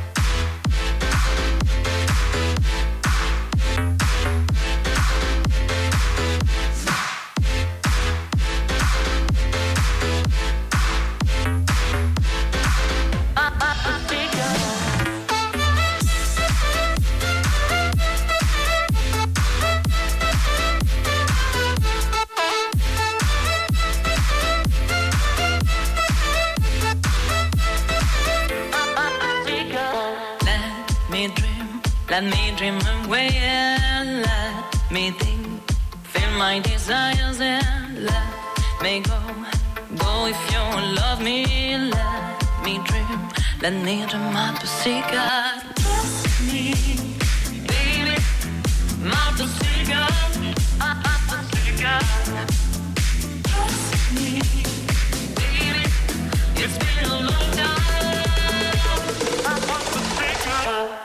Let me dream away and let me think. Feel my desires and let me go. Go if you love me, let me dream. Let me dream my pussycat. Trust me, baby, my pussycat, my pussycat. Trust me, baby, it's been a long time. My pussycat.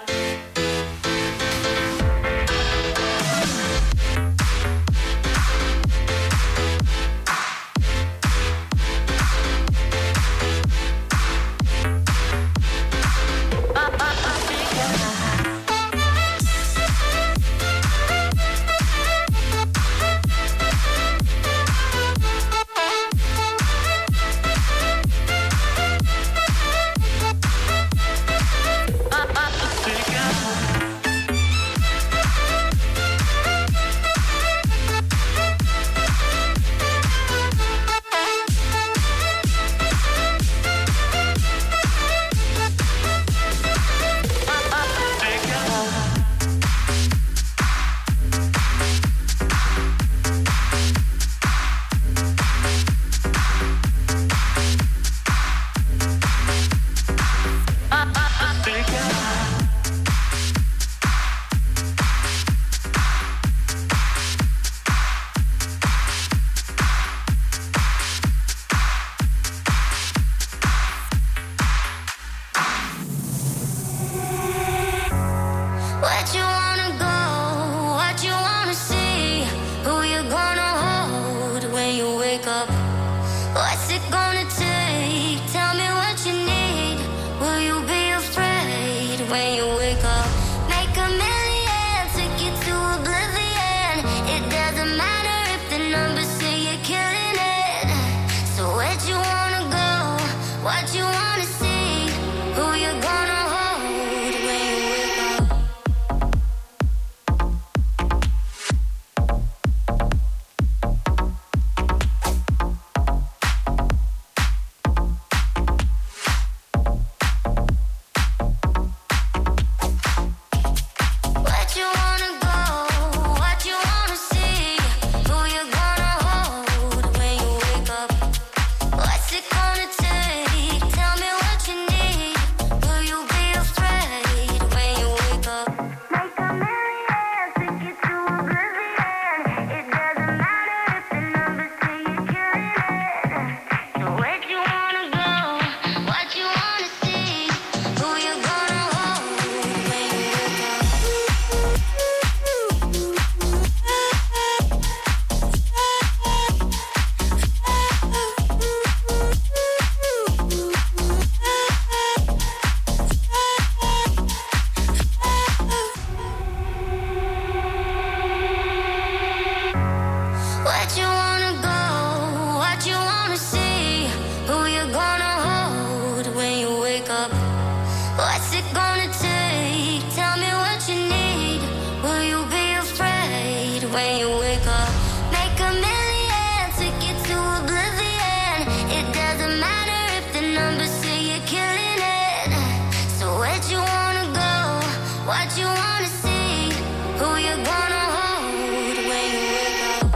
gonna hold when you wake up?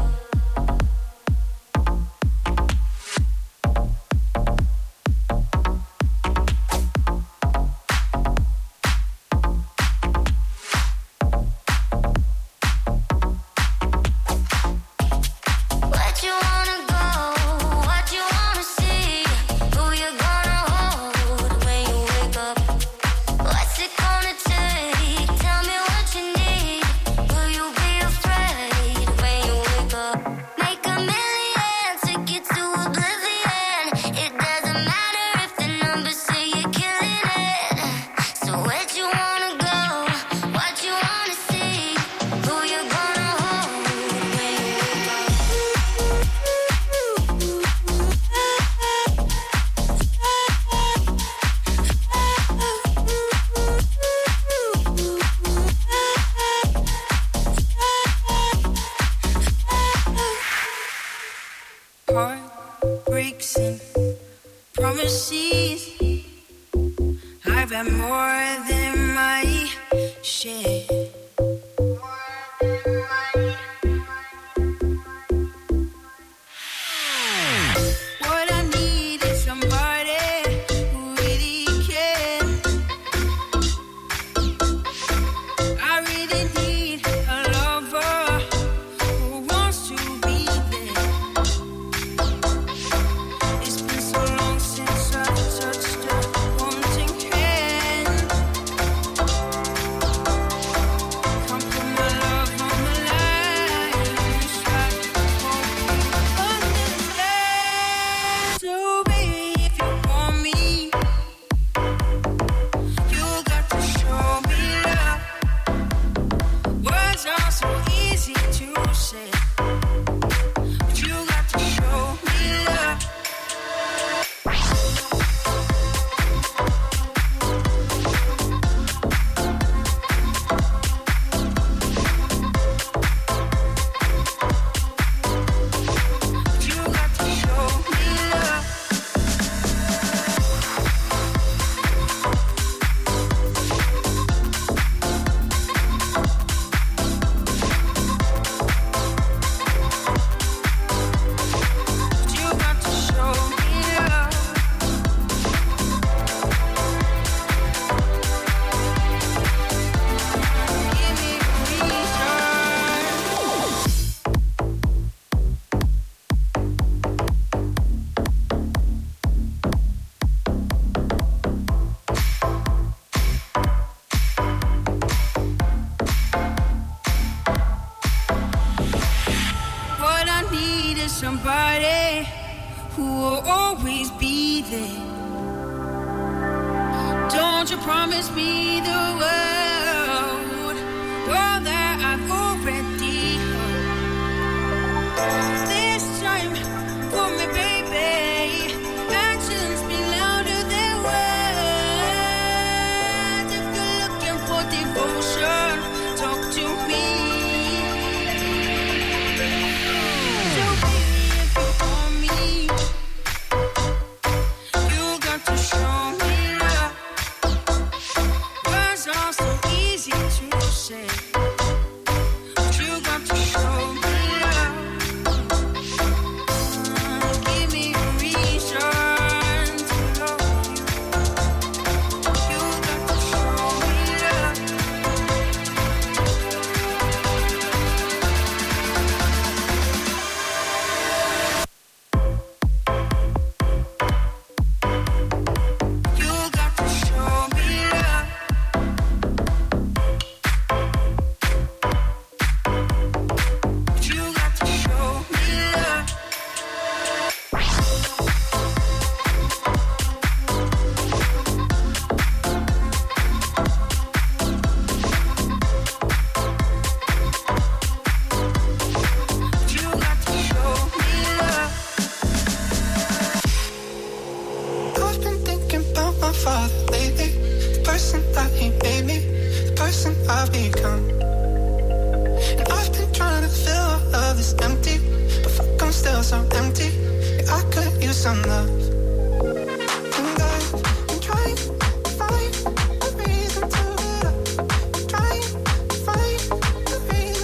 What you wanna go? What you wanna see? Who you gonna hold when you wake up? What's it gonna take? Tell me what you need. Will you be afraid when you wake up? Make a million tickets to oblivion. It doesn't matter if the numbers say you're killing it. So where'd you wanna go? What you wanna see? Who you gonna hold when you wake up? Heartbreaks and promises. I've had more than my share. What I need is somebody who really cares. I really need a lover who wants to be there. It's been so long since I've touched a haunting hand. Come put my love on the line. Try to hold me understand. So baby, if you want me, you got to show me love. Words are so easy to say, but you got to show me love. But you got to show me love. But you got to show me love. Give me a reason. What I need is somebody who will always be there. Don't you promise me the world, world that I've already heard. This time, for me, baby. Actions speak louder than words. If you're looking for devotion, talk to me. So baby, if you want me, you got to show me love. Words are so easy to say, but you got to show me love. Give me a reason to love you. You got to show me love. You got to show me love. You got to show me love. You got to show me love. I've been thinking about my father lately, the person that he made me, the person I've become. And I've been trying to fill all of this empty, but fuck, I'm still so empty. Yeah, I could use some love. And I've been trying to find a reason to get up. I'm trying to find a reason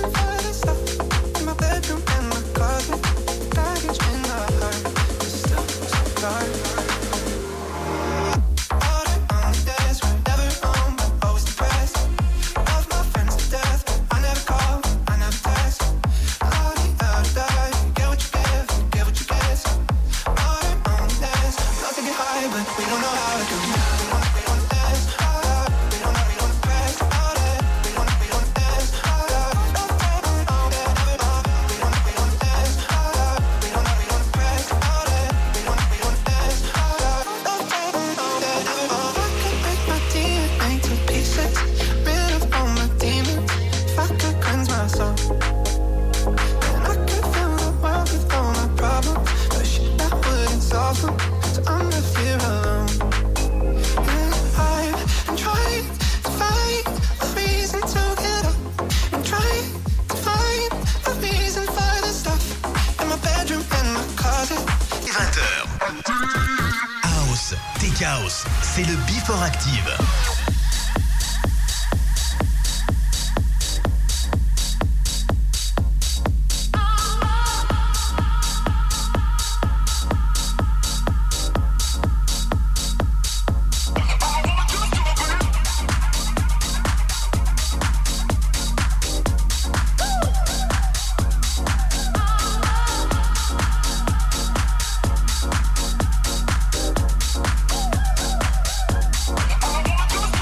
House, c'est le Before Active. I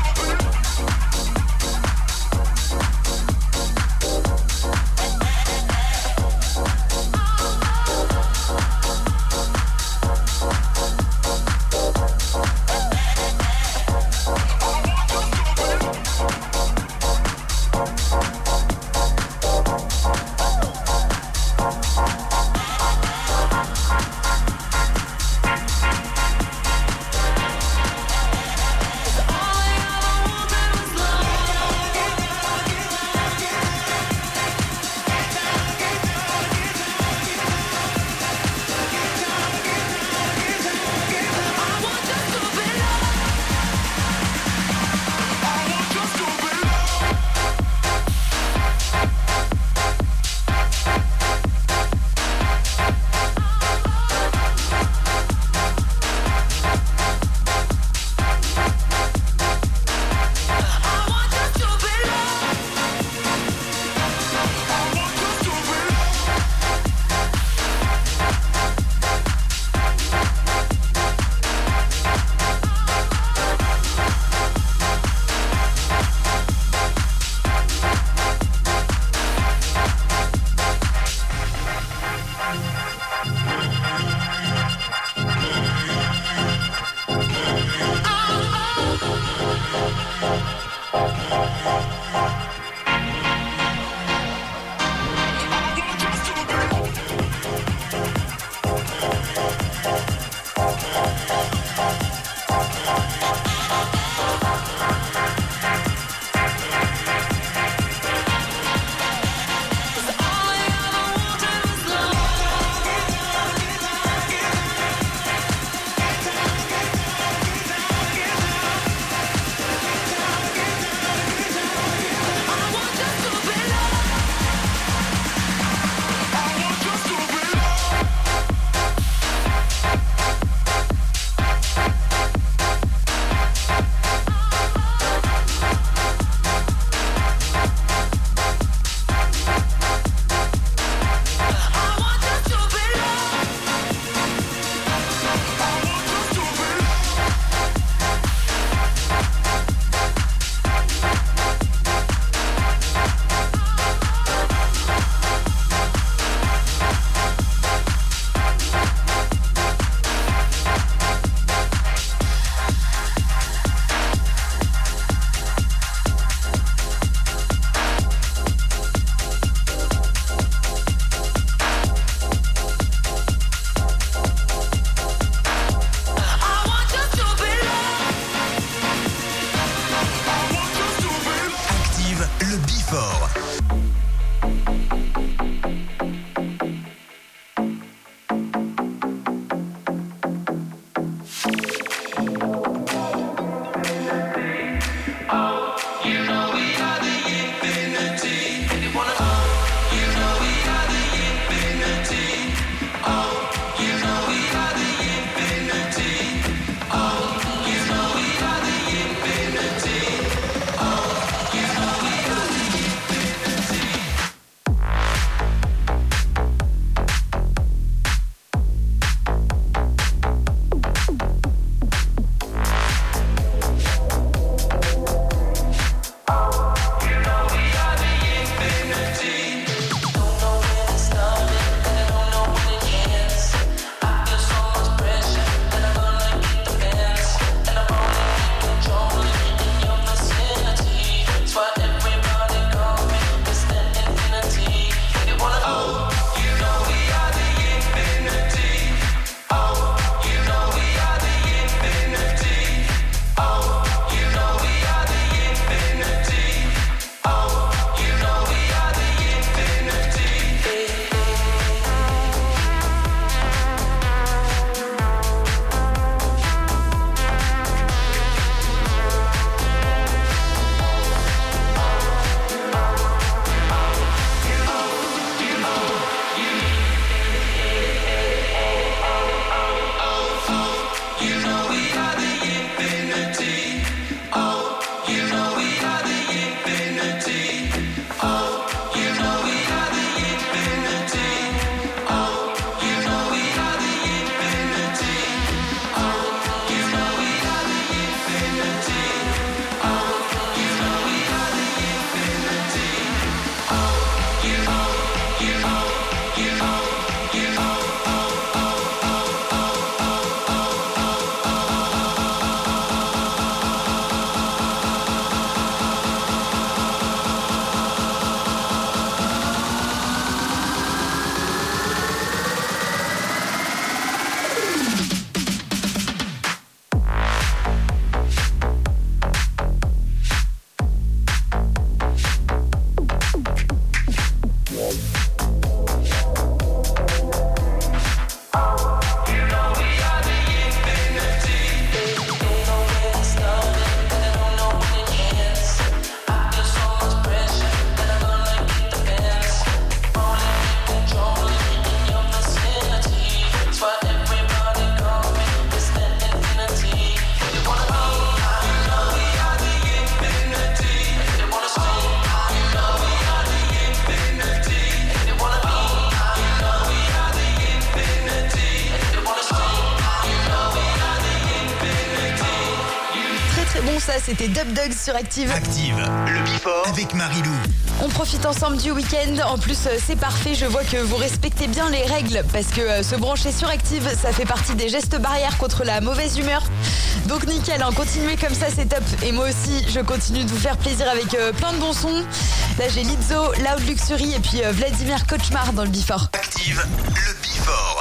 ça, c'était Dub Dogs sur Active. Active, le Before avec Marilou. On profite ensemble du week-end. En plus, euh, c'est parfait. Je vois que vous respectez bien les règles parce que euh, se brancher sur Active, ça fait partie des gestes barrières contre la mauvaise humeur. Donc nickel, hein, continuez comme ça, c'est top. Et moi aussi, je continue de vous faire plaisir avec euh, plein de bons sons. Là, j'ai Lizzo, Loud Luxury et puis euh, Vladimir Cauchemar dans le Before. Active, le Before.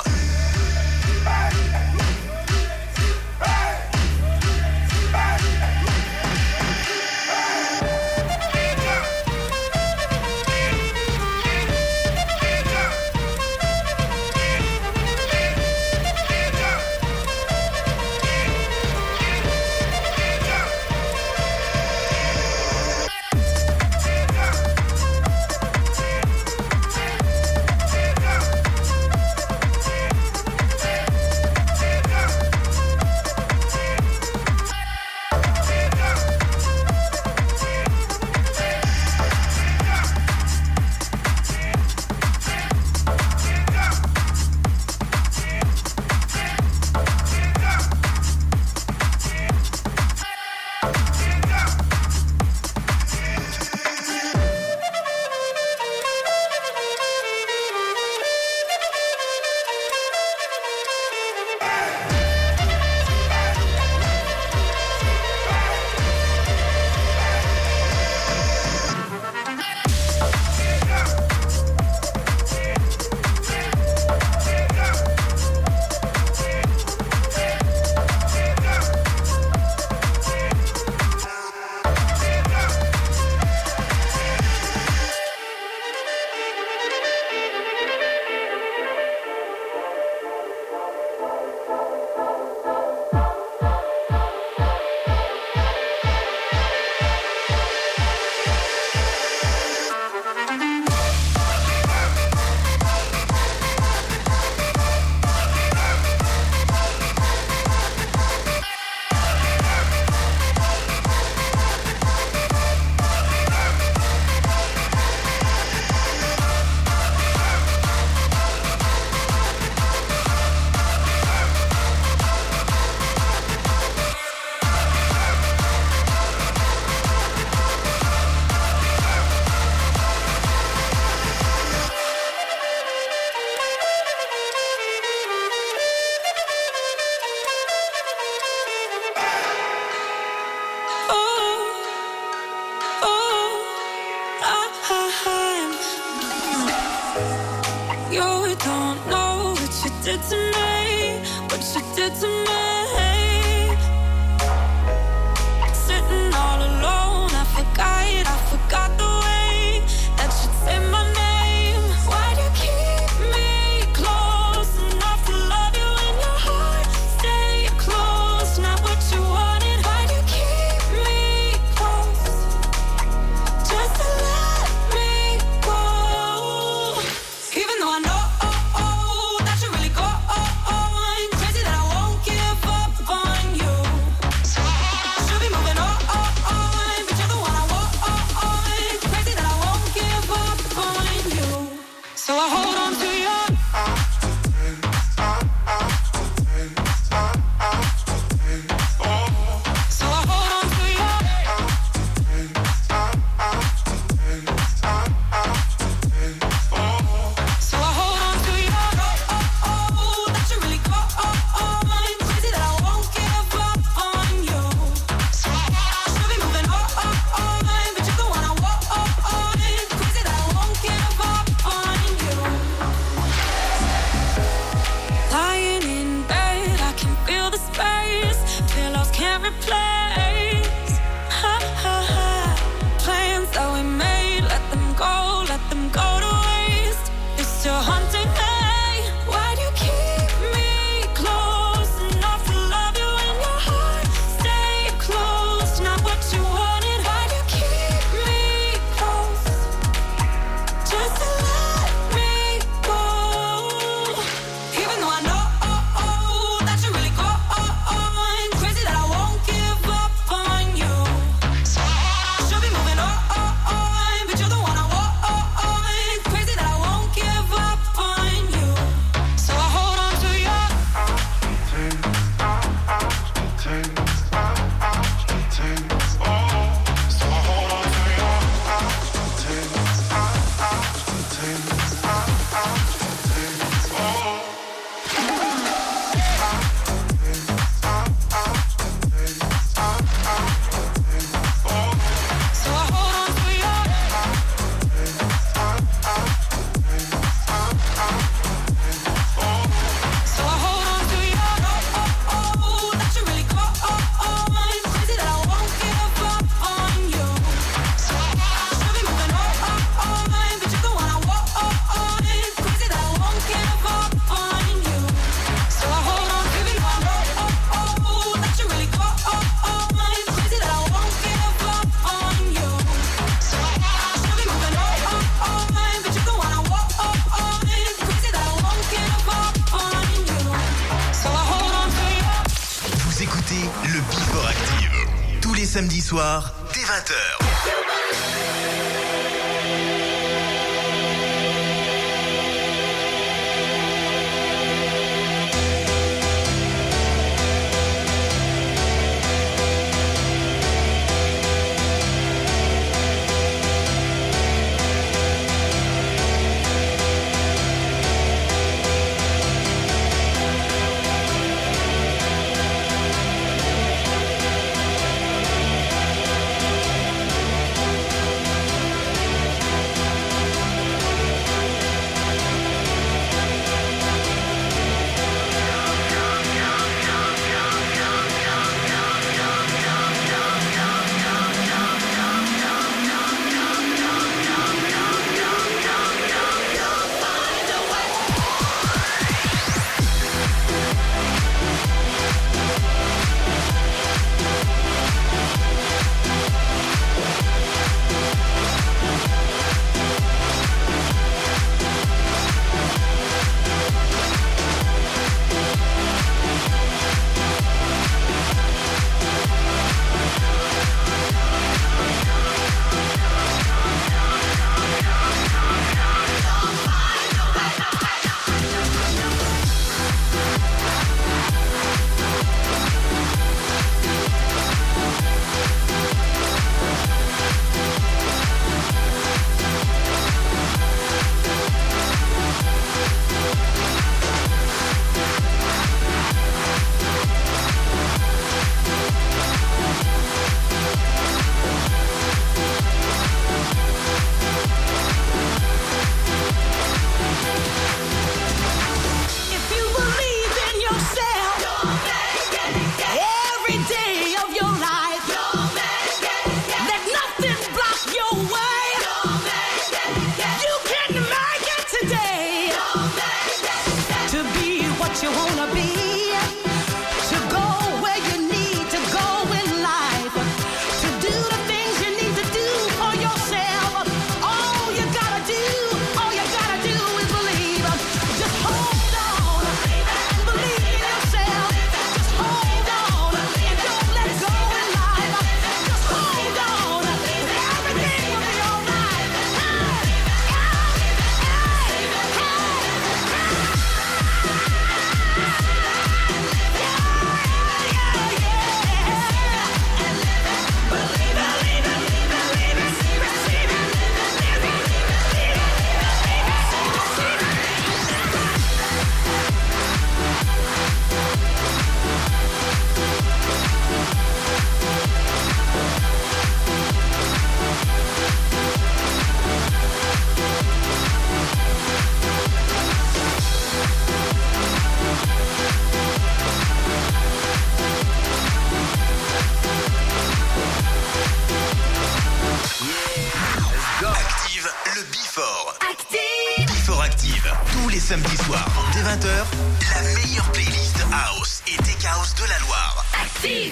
did to me, what you did to me. Sitting all alone, I forgot, I forgot the way that you say my name. Why do you keep me close enough to love you in your heart? Stay close, not what you wanted. Why do you keep me close? Just to let me go. Even though I know that you really go on, crazy that I won't give up on you. Should be moving on, but you're the one I want. Crazy that I won't give up on you. So I hold on to you. So I hold on to you. So I hold on to you. That you really go on, crazy that I won't give up on you. Should be moving on, but you're the one I want. Crazy that I won't give up on you. samedis soirs, dès vingt heures. Samedi soir, dès vingt heures, la meilleure playlist House et Tech House de la Loire. Active!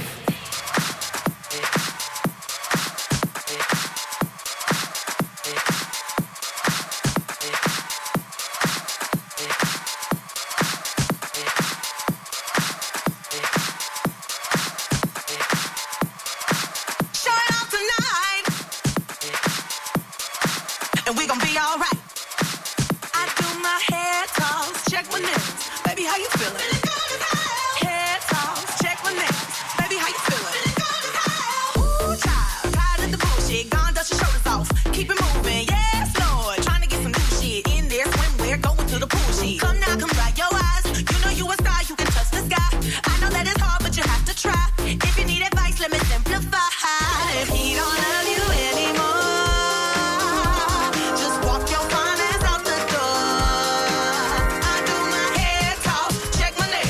Check my name.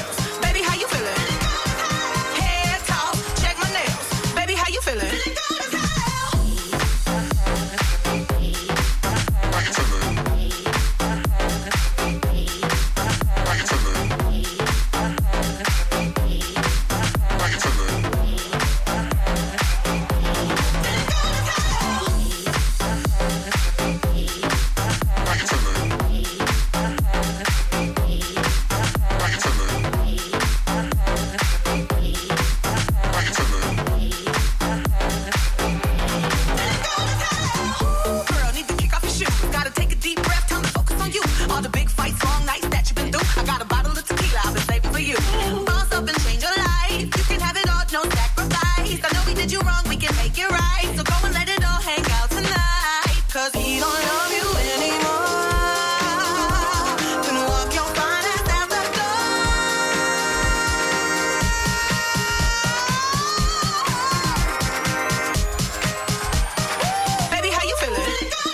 love you anymore. Then walk your fine ass out the door. Baby, how you feeling?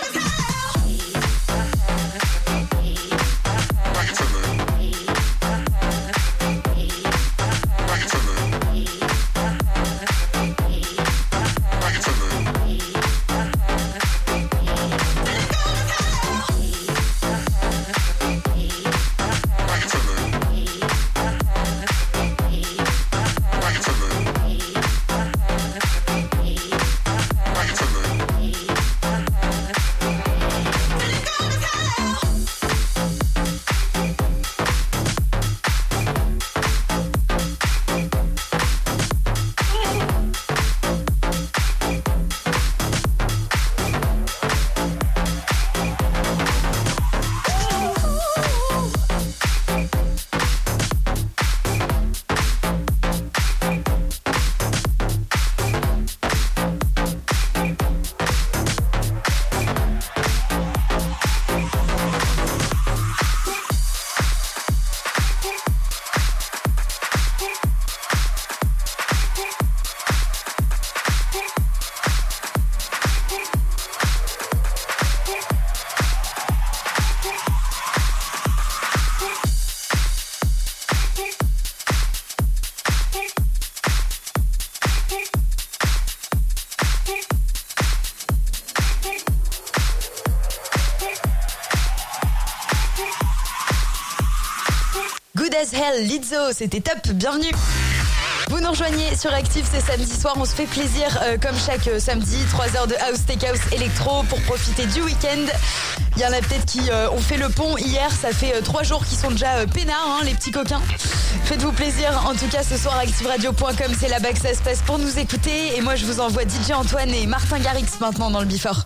Good as hell, Lizzo, c'était top, bienvenue. Vous nous rejoignez sur Active, c'est samedi soir, on se fait plaisir euh, comme chaque euh, samedi, trois heures de house, tech house, électro pour profiter du week-end. Il y en a peut-être qui euh, ont fait le pont hier, ça fait euh, trois jours qu'ils sont déjà euh, peinards, hein, les petits coquins. Faites-vous plaisir, en tout cas ce soir active radio point com, c'est là-bas que ça se passe pour nous écouter. Et moi je vous envoie D J Antoine et Martin Garrix maintenant dans le Before.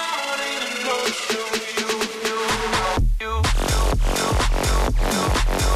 You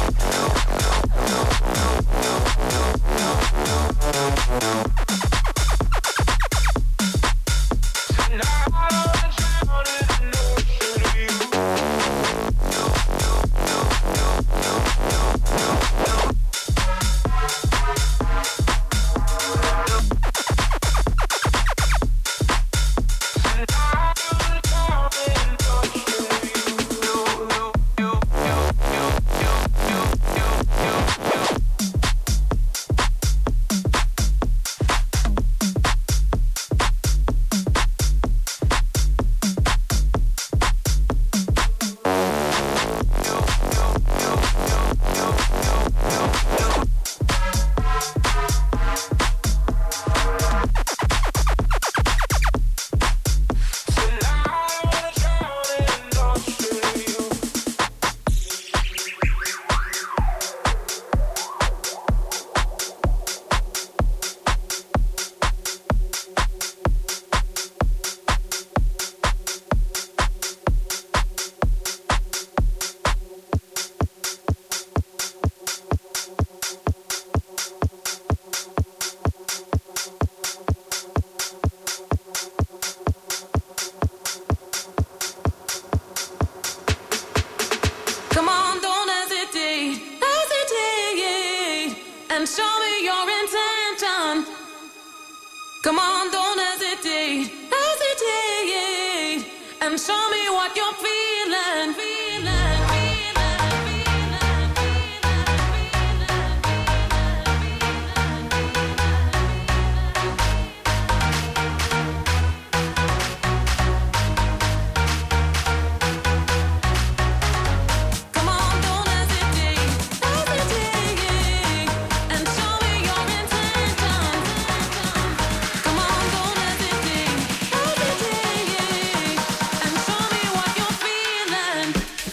and show me your intention. Come on, don't hesitate, hesitate, and show me what you're feeling, feeling, feeling. Come on, don't hesitate, hesitate, and show me your intention. Come on, don't hesitate, hesitate, and show me what you're feeling.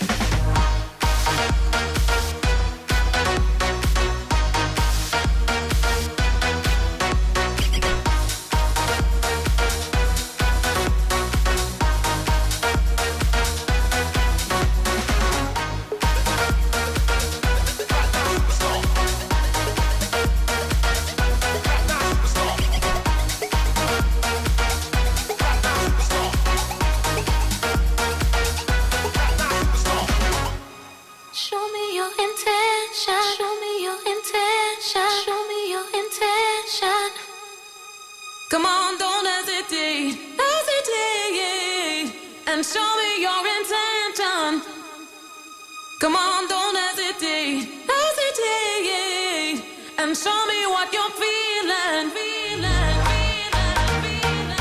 Show me your intention. Show me your intention. Show me your intention. Come on, don't hesitate, hesitate, and show me your intention. Come on, don't hesitate, hesitate, and show me what you're feeling, feeling, feeling, feeling.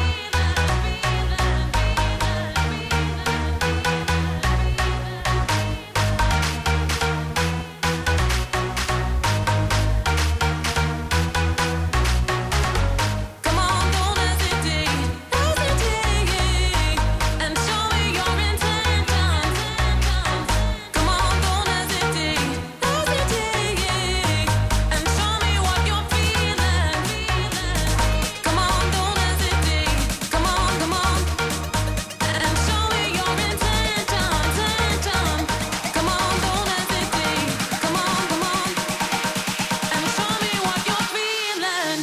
Come on, don't hesitate, hesitate, and show me your intention. Come on, don't hesitate, hesitate, and show me what you're feeling, feeling. Come on, don't hesitate, come on, come on, and show me your intention, intention. Come on, don't hesitate, come on, come on, and show me what you're feeling.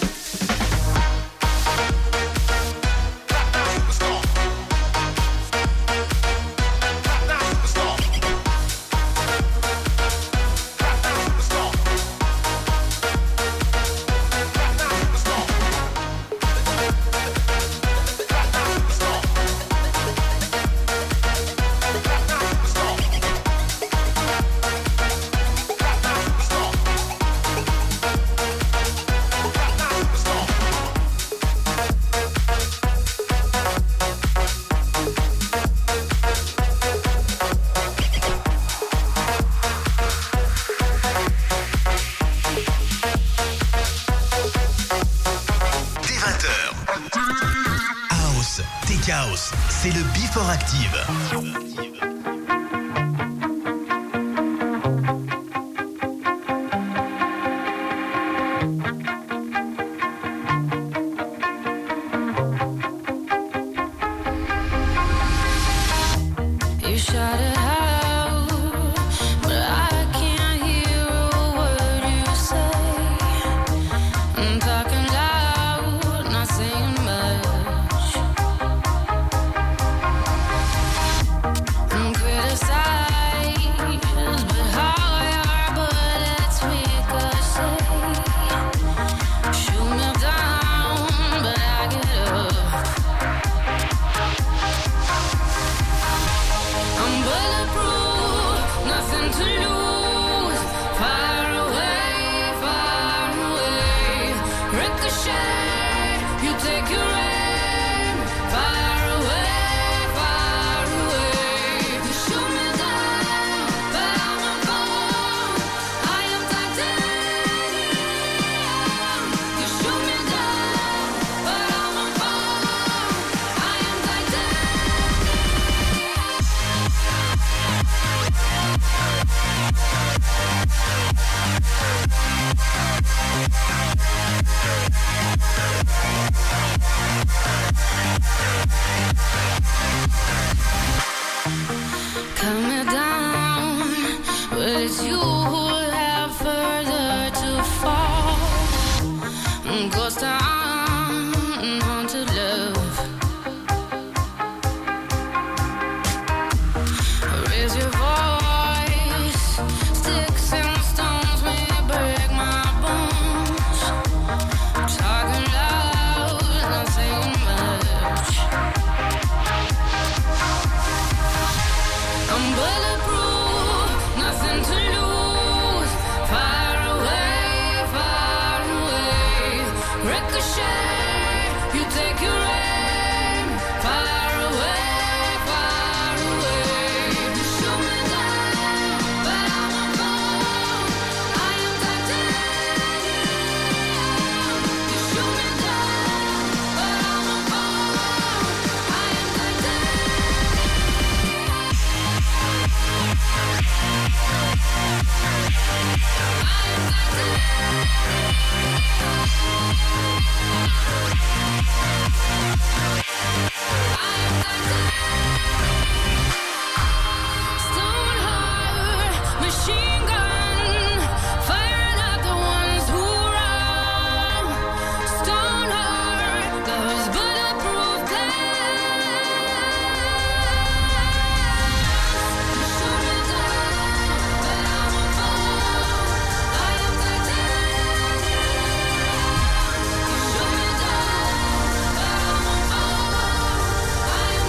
Dès vingt heures. House, Tech House, c'est le Before Active. You shout it out, but I can't hear a word you say. I'm talking loud, not saying much. I'm criticized, but how your bullets ricochet. Shoot me down, but I get up. I'm bulletproof, nothing to lose. Far away, far away. Ricochet, you take your aim. Far away, far away. You shoot me down, but I'm not gone. I am titanium. You shoot me down, but I'm not gone. I am titanium. Cut me down, but it's you who have further to fall. Ghost town, haunted love. Raise your voice, sticks and stones may break my bones. I'm bulletproof, nothing to lose. Far away, far away. Ricochet, you take your aim. Far away, far away. Shoot me down, but I won't fall. I am titanium. You shoot me down, but I won't fall. I am Stone heart, machine gun, firing at the ones who run. Stone heart, those bulletproof glass. Shoot me down, but I won't fall. I am titanium. You shoot me down, but I won't fall. I am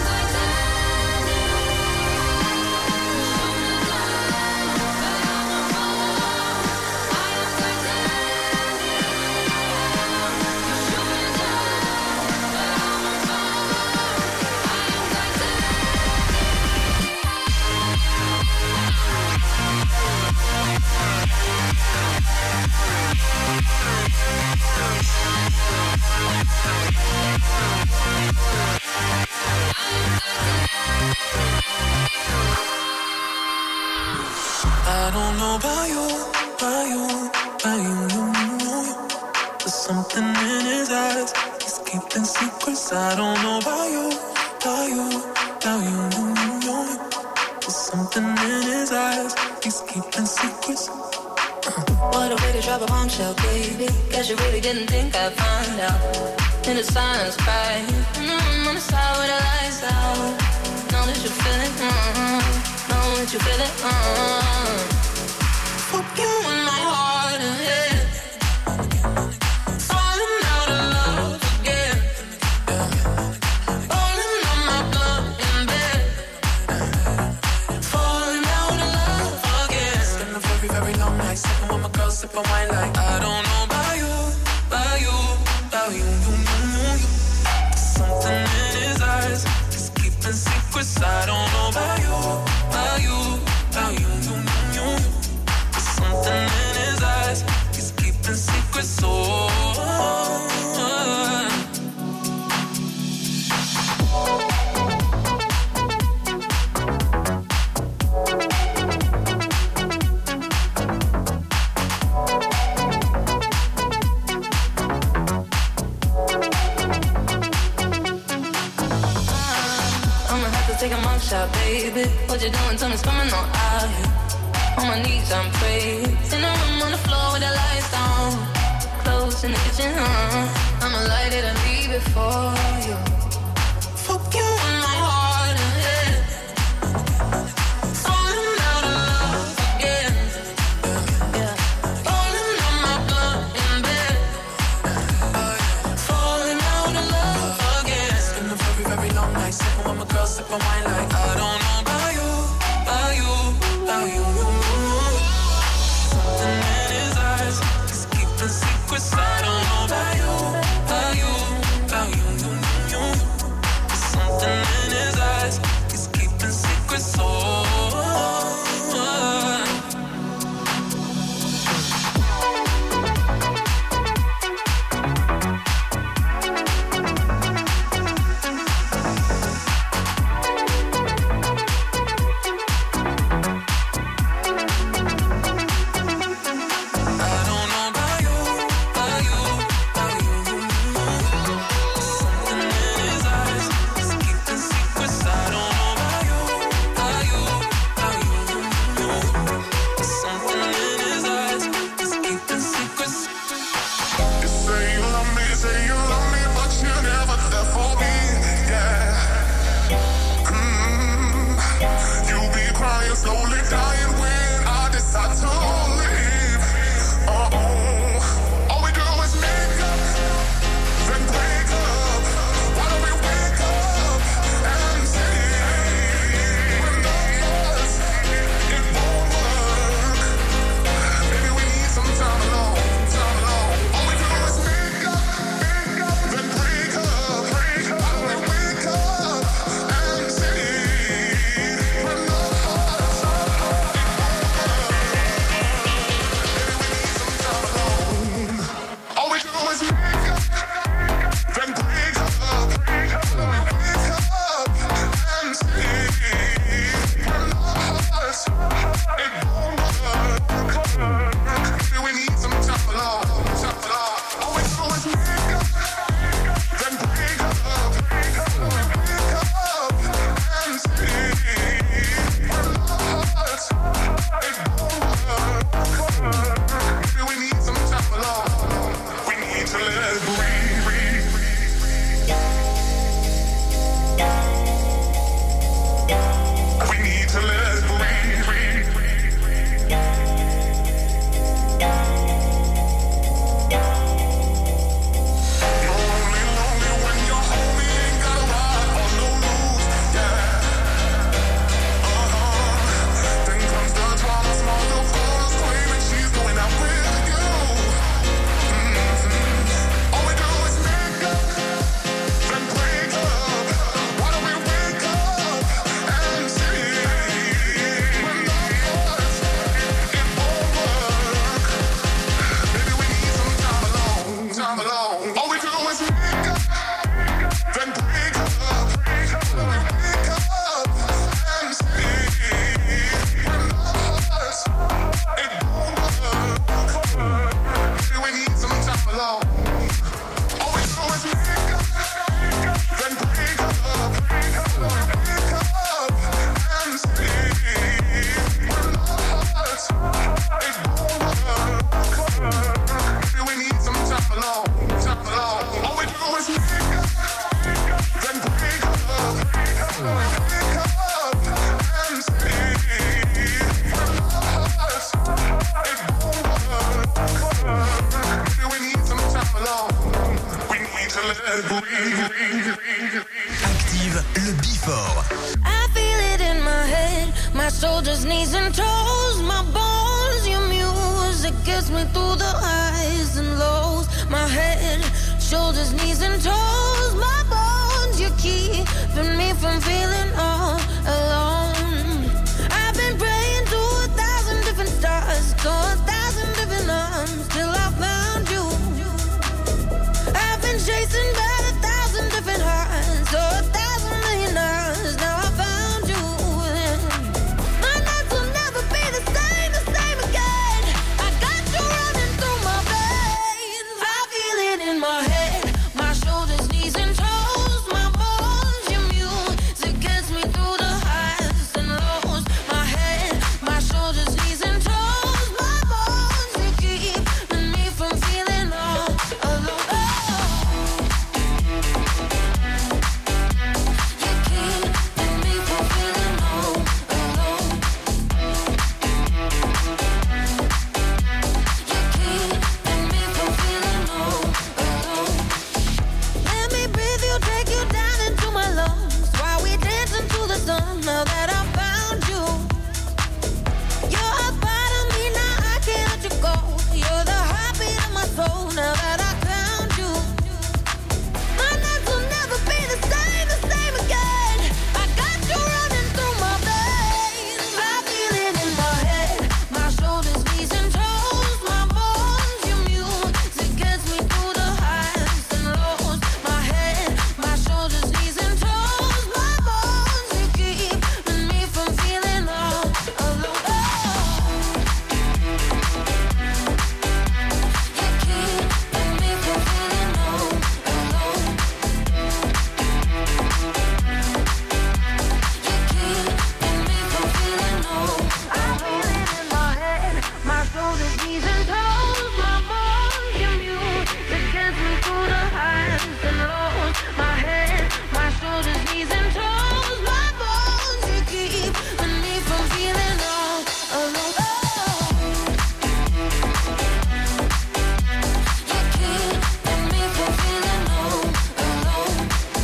I don't know about you, about you, about you, you, you. There's something in his eyes, he's keeping secrets. I don't know about you, about you, about you, you, you. There's something in his eyes, he's keeping secrets. What a way to drop a bombshell, baby. Guess you really didn't think I'd find out. In the silence, cry. Mm, on the side with the lights out. Know that you feel it, mm, know that you feel it, mm. Fuck you in my heart and head. Falling out of love again. Falling on my blood in bed. Falling out of love again. Spend a very, very long night sipping with my girl, sipping wine like I don't know about you, about you, about you, you, you, you, you. Something in his eyes, he's keeping secrets. I don't know about you, about you, about you, you, you, you. There's something in his eyes, he's keeping secrets. Oh, I'ma have to take a mug shot, baby. What you doing? Tell me, coming on out here. On my knees, I'm praying. In the room on the floor with the lights down. Clothes in the kitchen, huh? I'ma light it and leave it for you. Fuck you in my heart and head. Falling out of love again. Yeah. Falling on my blood in bed. Falling out of love again. it's been a very, very long night sipping with my girl, sipping wine like I don't know about you, about you, about you, you, you. Something in his eyes, he's keeping secrets. I don't know about you, about you, about you, you, you, you. My shoulders, knees and toes, my bones, your music gets me through the highs and lows. My head, shoulders, knees and toes, my bones, you keeping me from feeling all alone. I've been praying to a thousand different stars, to a thousand different arms, till I found you. I've been chasing by a thousand different hearts, to a thousand million hours, now I found you. My nights will never be the same, the same again. I got you running through my veins. I feel it in my head, my shoulders, knees and toes, my bones, your music gets me through the highs and lows. My head, my shoulders, knees and toes, my bones, you keeping me from feeling all alone. Let me breathe you, take you down into my lungs while we dance into the sun. Now that I found you, you're a part of me, now I can't let you go. You're the heartbeat of my soul. Now that I found you, my nights will never be the same, the same again. I got you running through my veins. I feel it in my head, my shoulders, knees and toes, my bones, your music gets me through the highs and lows. My head, my shoulders, knees and toes, my bones, you keeping me from feeling all alone. You keeping me from feeling all alone. You keeping me from feeling all. I feel it in my head, my shoulders, knees and toes, my bones, your music gets me through the highs and lows. My head, my shoulders, knees and toes, my bones, you keeping me from feeling all alone. You keeping me from feeling all alone.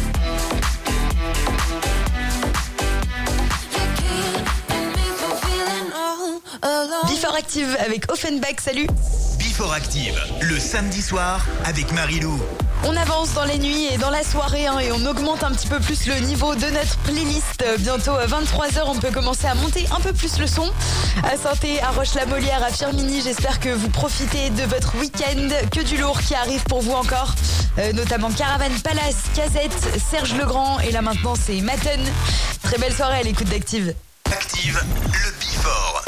You keeping me from feeling all alone. Before Active avec Offenbach, salut. Before Active, le samedi soir avec Marilou. On avance dans les nuits et dans la soirée hein, et on augmente un petit peu plus le niveau de notre playlist. Bientôt à vingt-trois heures, on peut commencer à monter un peu plus le son. À Saint-Thé, à Roche-la-Molière, à Firminy, j'espère que vous profitez de votre week-end. Que du lourd qui arrive pour vous encore. Euh, notamment Caravane Palace, Casette, Serge Legrand et là maintenant c'est Matten. Très belle soirée à l'écoute d'Active. Active, le Before.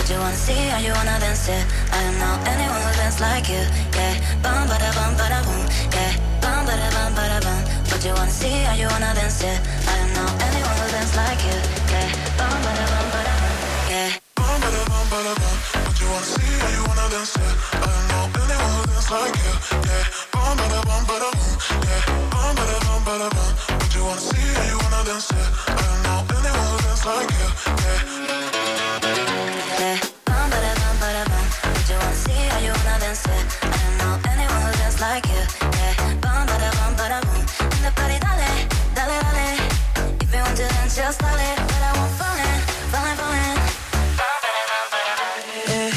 But you wanna see how you wanna dance it. I don't know anyone who dance like you. Yeah, bum ba da bum ba da boom. Yeah, bum ba da bum ba da bum. But you wanna see how you wanna dance it. I don't know anyone who dance like you. Yeah, bum ba da bum ba da bum. Yeah. Bum ba da bum ba da bum. But you wanna see how you wanna dance it. I don't know anyone who dance like you. Yeah, bum ba da bum ba da boom. Yeah, bum ba da bum ba da bum. But you wanna see how you wanna dance it. I don't know anyone who dance like you. Yeah. Yeah, bum ba da bum ba da bum. But you wanna see how you wanna dance it. I don't know anyone who dance like you. Yeah, bum ba da bum ba da boom. In the party, dale, dale, dale. If you want to dance, just dale. But I won't fall in, fall in, fall in. Bum ba da bum ba da bum. Yeah.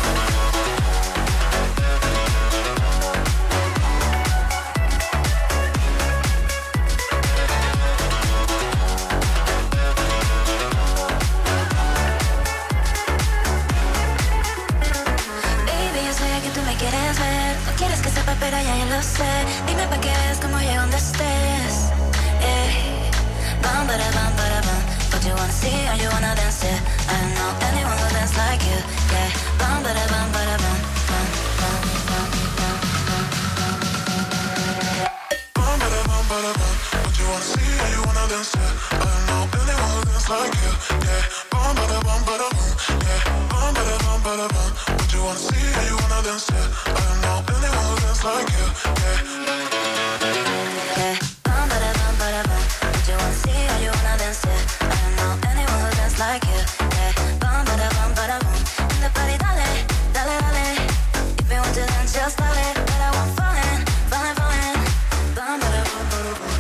Quieres que sepa, pero ya yo lo sé. Dime pa' que veas cómo llego donde estés. Yeah. Bum, ba da bum, ba da bum. But you wanna see how you wanna dance it. I don't know anyone who dance like you. Yeah. Bum, ba da bum, ba da bum. Bum, bum, bum, bum, bum, bum. Bum ba da bum ba da bum. But you wanna see how you wanna dance it. I don't know anyone who dance like you. Yeah. Bum ba da bum ba da bum. Yeah. Bum ba da bum ba da bum. But you wanna see how you wanna dance it. I don't know anyone who dance like you. Yeah. Yeah. Bum ba da bum ba da bum. But you wanna see how you wanna dance it. I don't know anyone who dance like you. Yeah. Bum ba da bum ba da bum. In the party, dale, dale, dale. If you want to dance, just dale. But I won't fall in, fall in, fall in. Bum ba da bum ba da bum.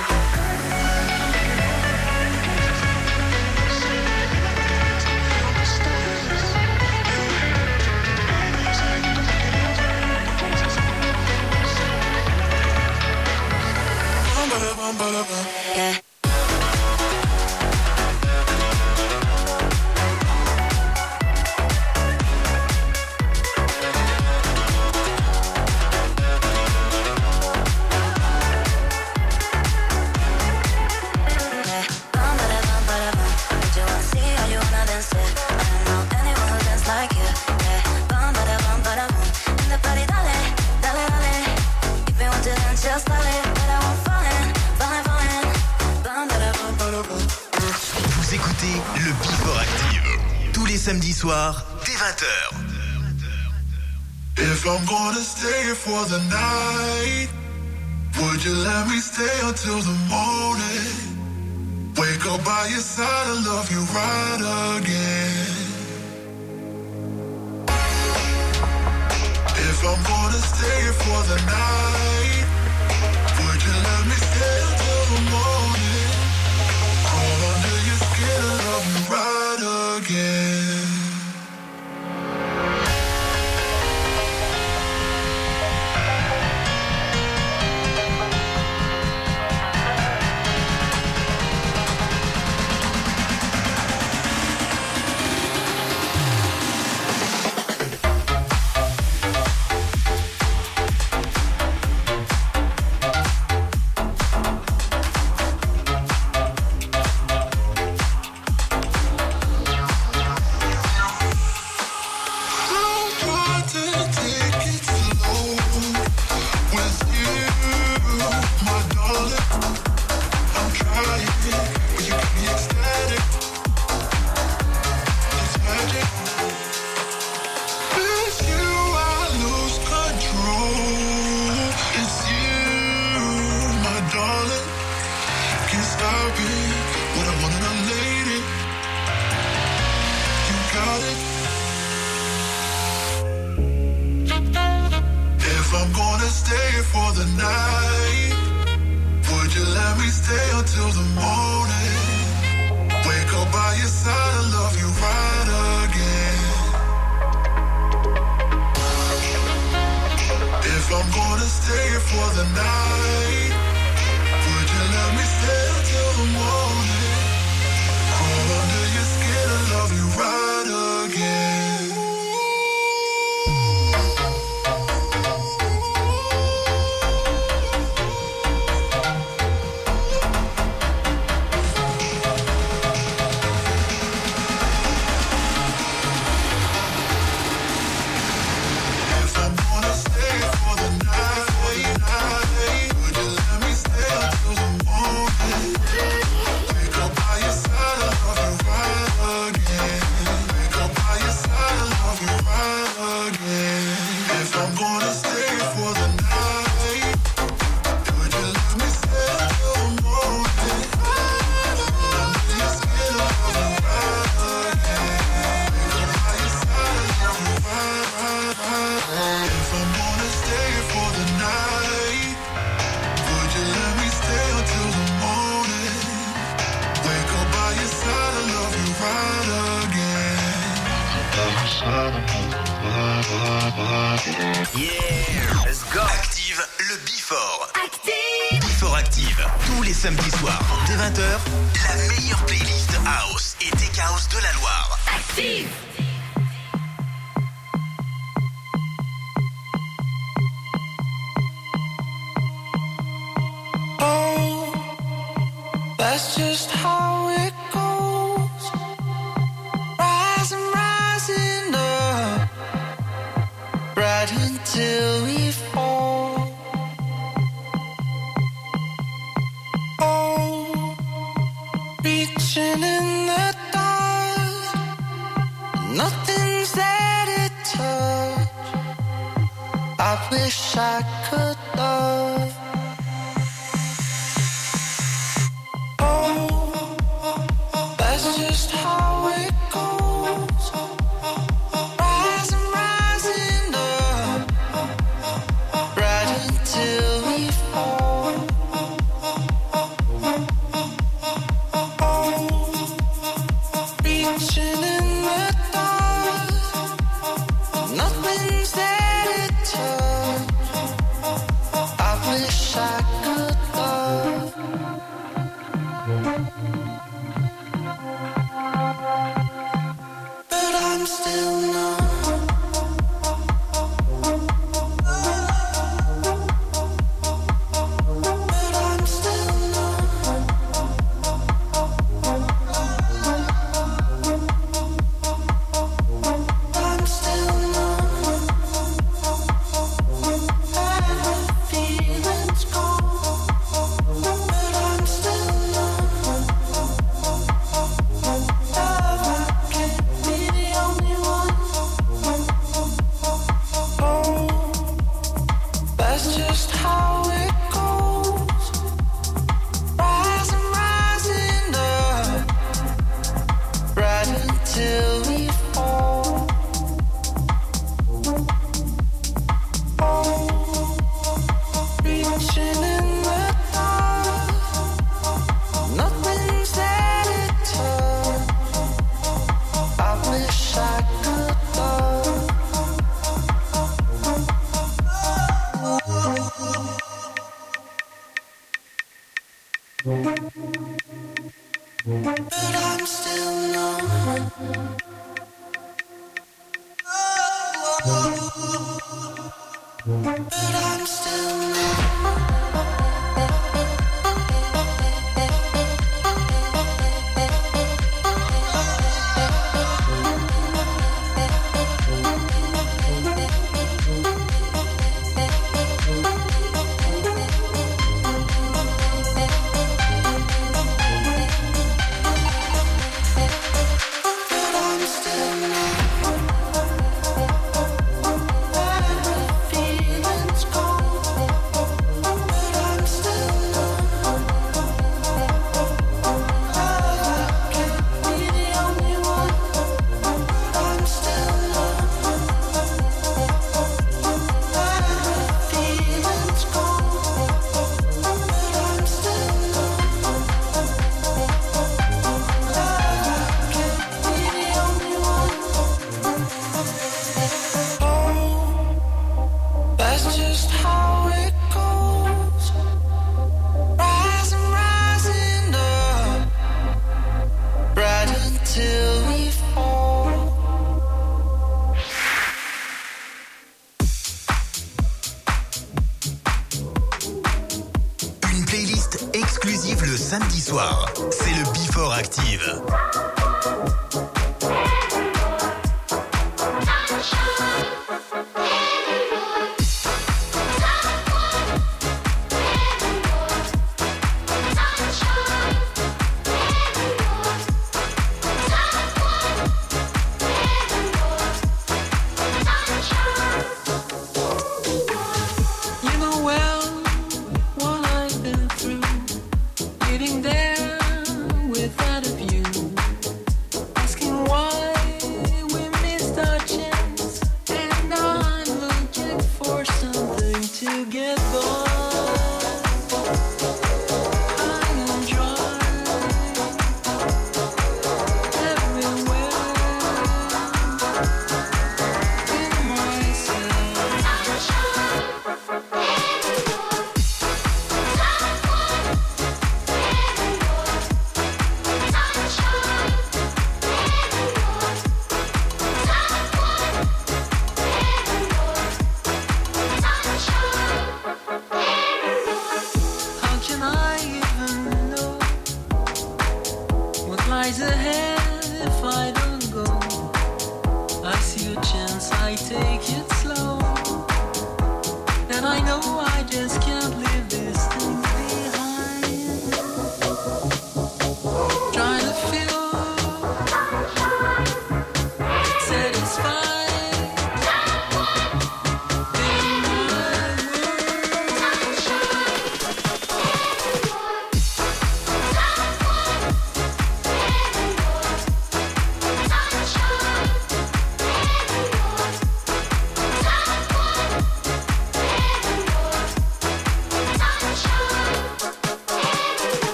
Yeah. Vous écoutez le Before Active. Tous les samedis soirs, dès vingt heures. If I'm gonna stay for the night, would you let me stay until the morning? Wake up by your side and love you right again. If I'm gonna stay for the night, would you let me stay until the morning? Crawl under your skin and love you right again. Yeah, let's go. Active le Before. Active. Before Active. Tous les samedis soirs, dès vingt heures, la meilleure playlist House et Tech House de la Loire. Active. Oh, that's just how it goes. Rising, rising up, right until we fall. Oh, reaching in the dark, nothing's there to touch. I wish I could love. That's just how it goes. Rising, rising up, right until we fall. Oh, reaching in the dark, nothing's there to touch. I wish I could love. But I'm still numb. But I'm still numb. I'm still numb. And the feeling's gone. But I'm still numb. Love, I can't be the only one. Oh, that's just how it goes. Rising, rising up, right until we fall. Oh, reaching in the dark, nothing's there to touch. I wish I could love. But I'm still numb. But I'm still But I'm still numb. And the feeling's gone. But I'm still numb. Love, I can't be the only one. I'm still numb. And the feeling's gone. But I'm still numb. Love, I can't be the only one. Oh, that's just how it goes. Rising, rising up, right until we fall. Une playlist exclusive le samedi soir. C'est le Before Active. You know well what I've been through, getting there without a view.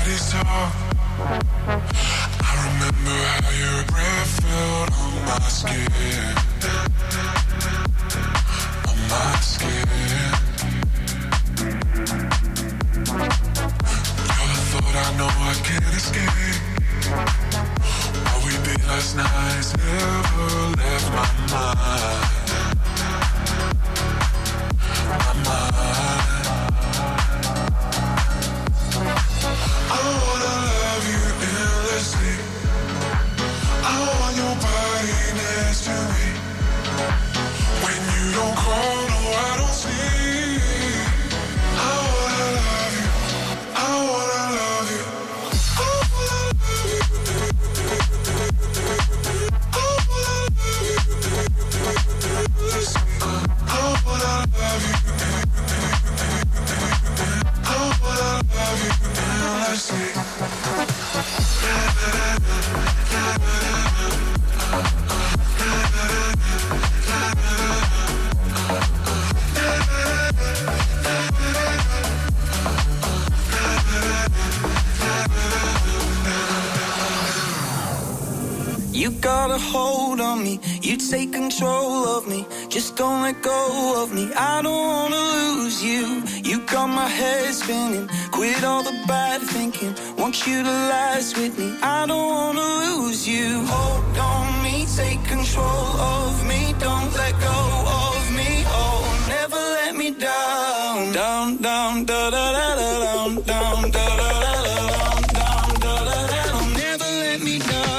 bodies talk. I remember how your breath felt on my skin. On my skin. You're the thought I know I can't escape. What we did last night's never left my mind. My mind. I wanna love you endlessly. I want your body next to me. When you don't call, no, I don't sleep. I wanna love you. I wanna love you. I wanna love you. I wanna love you. I wanna love you. I wanna love you endlessly. You got a hold on me, you take control of me. Just don't let go of me, I don't wanna lose you. You got my head spinning, quit all the bad thinking. Want you to last with me, I don't wanna lose you. Hold on me, take control of me. Don't let go of me, oh, never let me down. Down, down, da da da da down, down, da da da da down, down, da da da da. Never let me down.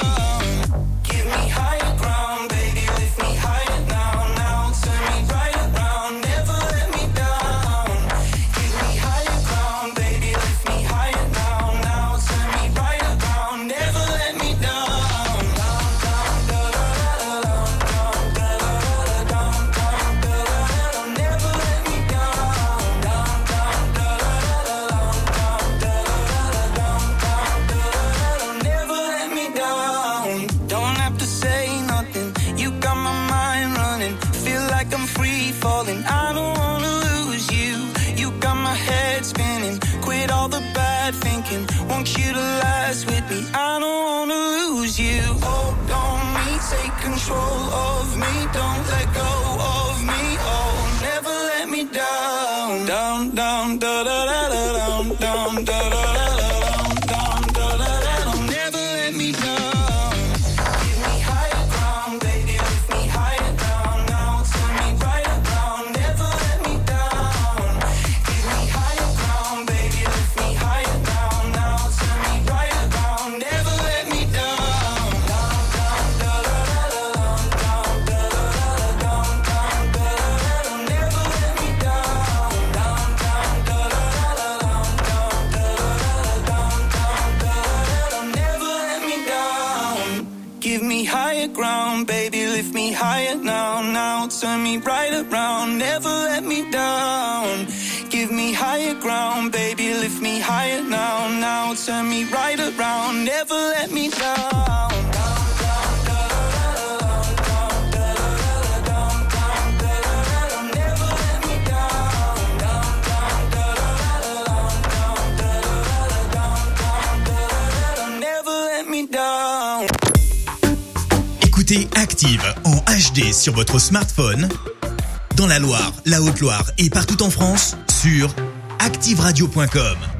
I don't wanna lose you. You got my head spinning, quit all the bad thinking. Want you to last with me, I don't wanna lose you. Hold on me, take control of me. Don't let go of me, oh, never let me down. Down, down, da da da da down, down, da da da da down, down, da da da da. Never let me down. Ground, baby, lift me higher now, now turn me right around, never let me down. Give me higher ground, baby, lift me higher now, now turn me right around, never let me down. Écoutez Active en H D sur votre smartphone, dans la Loire, la Haute-Loire et partout en France, sur active radio point com.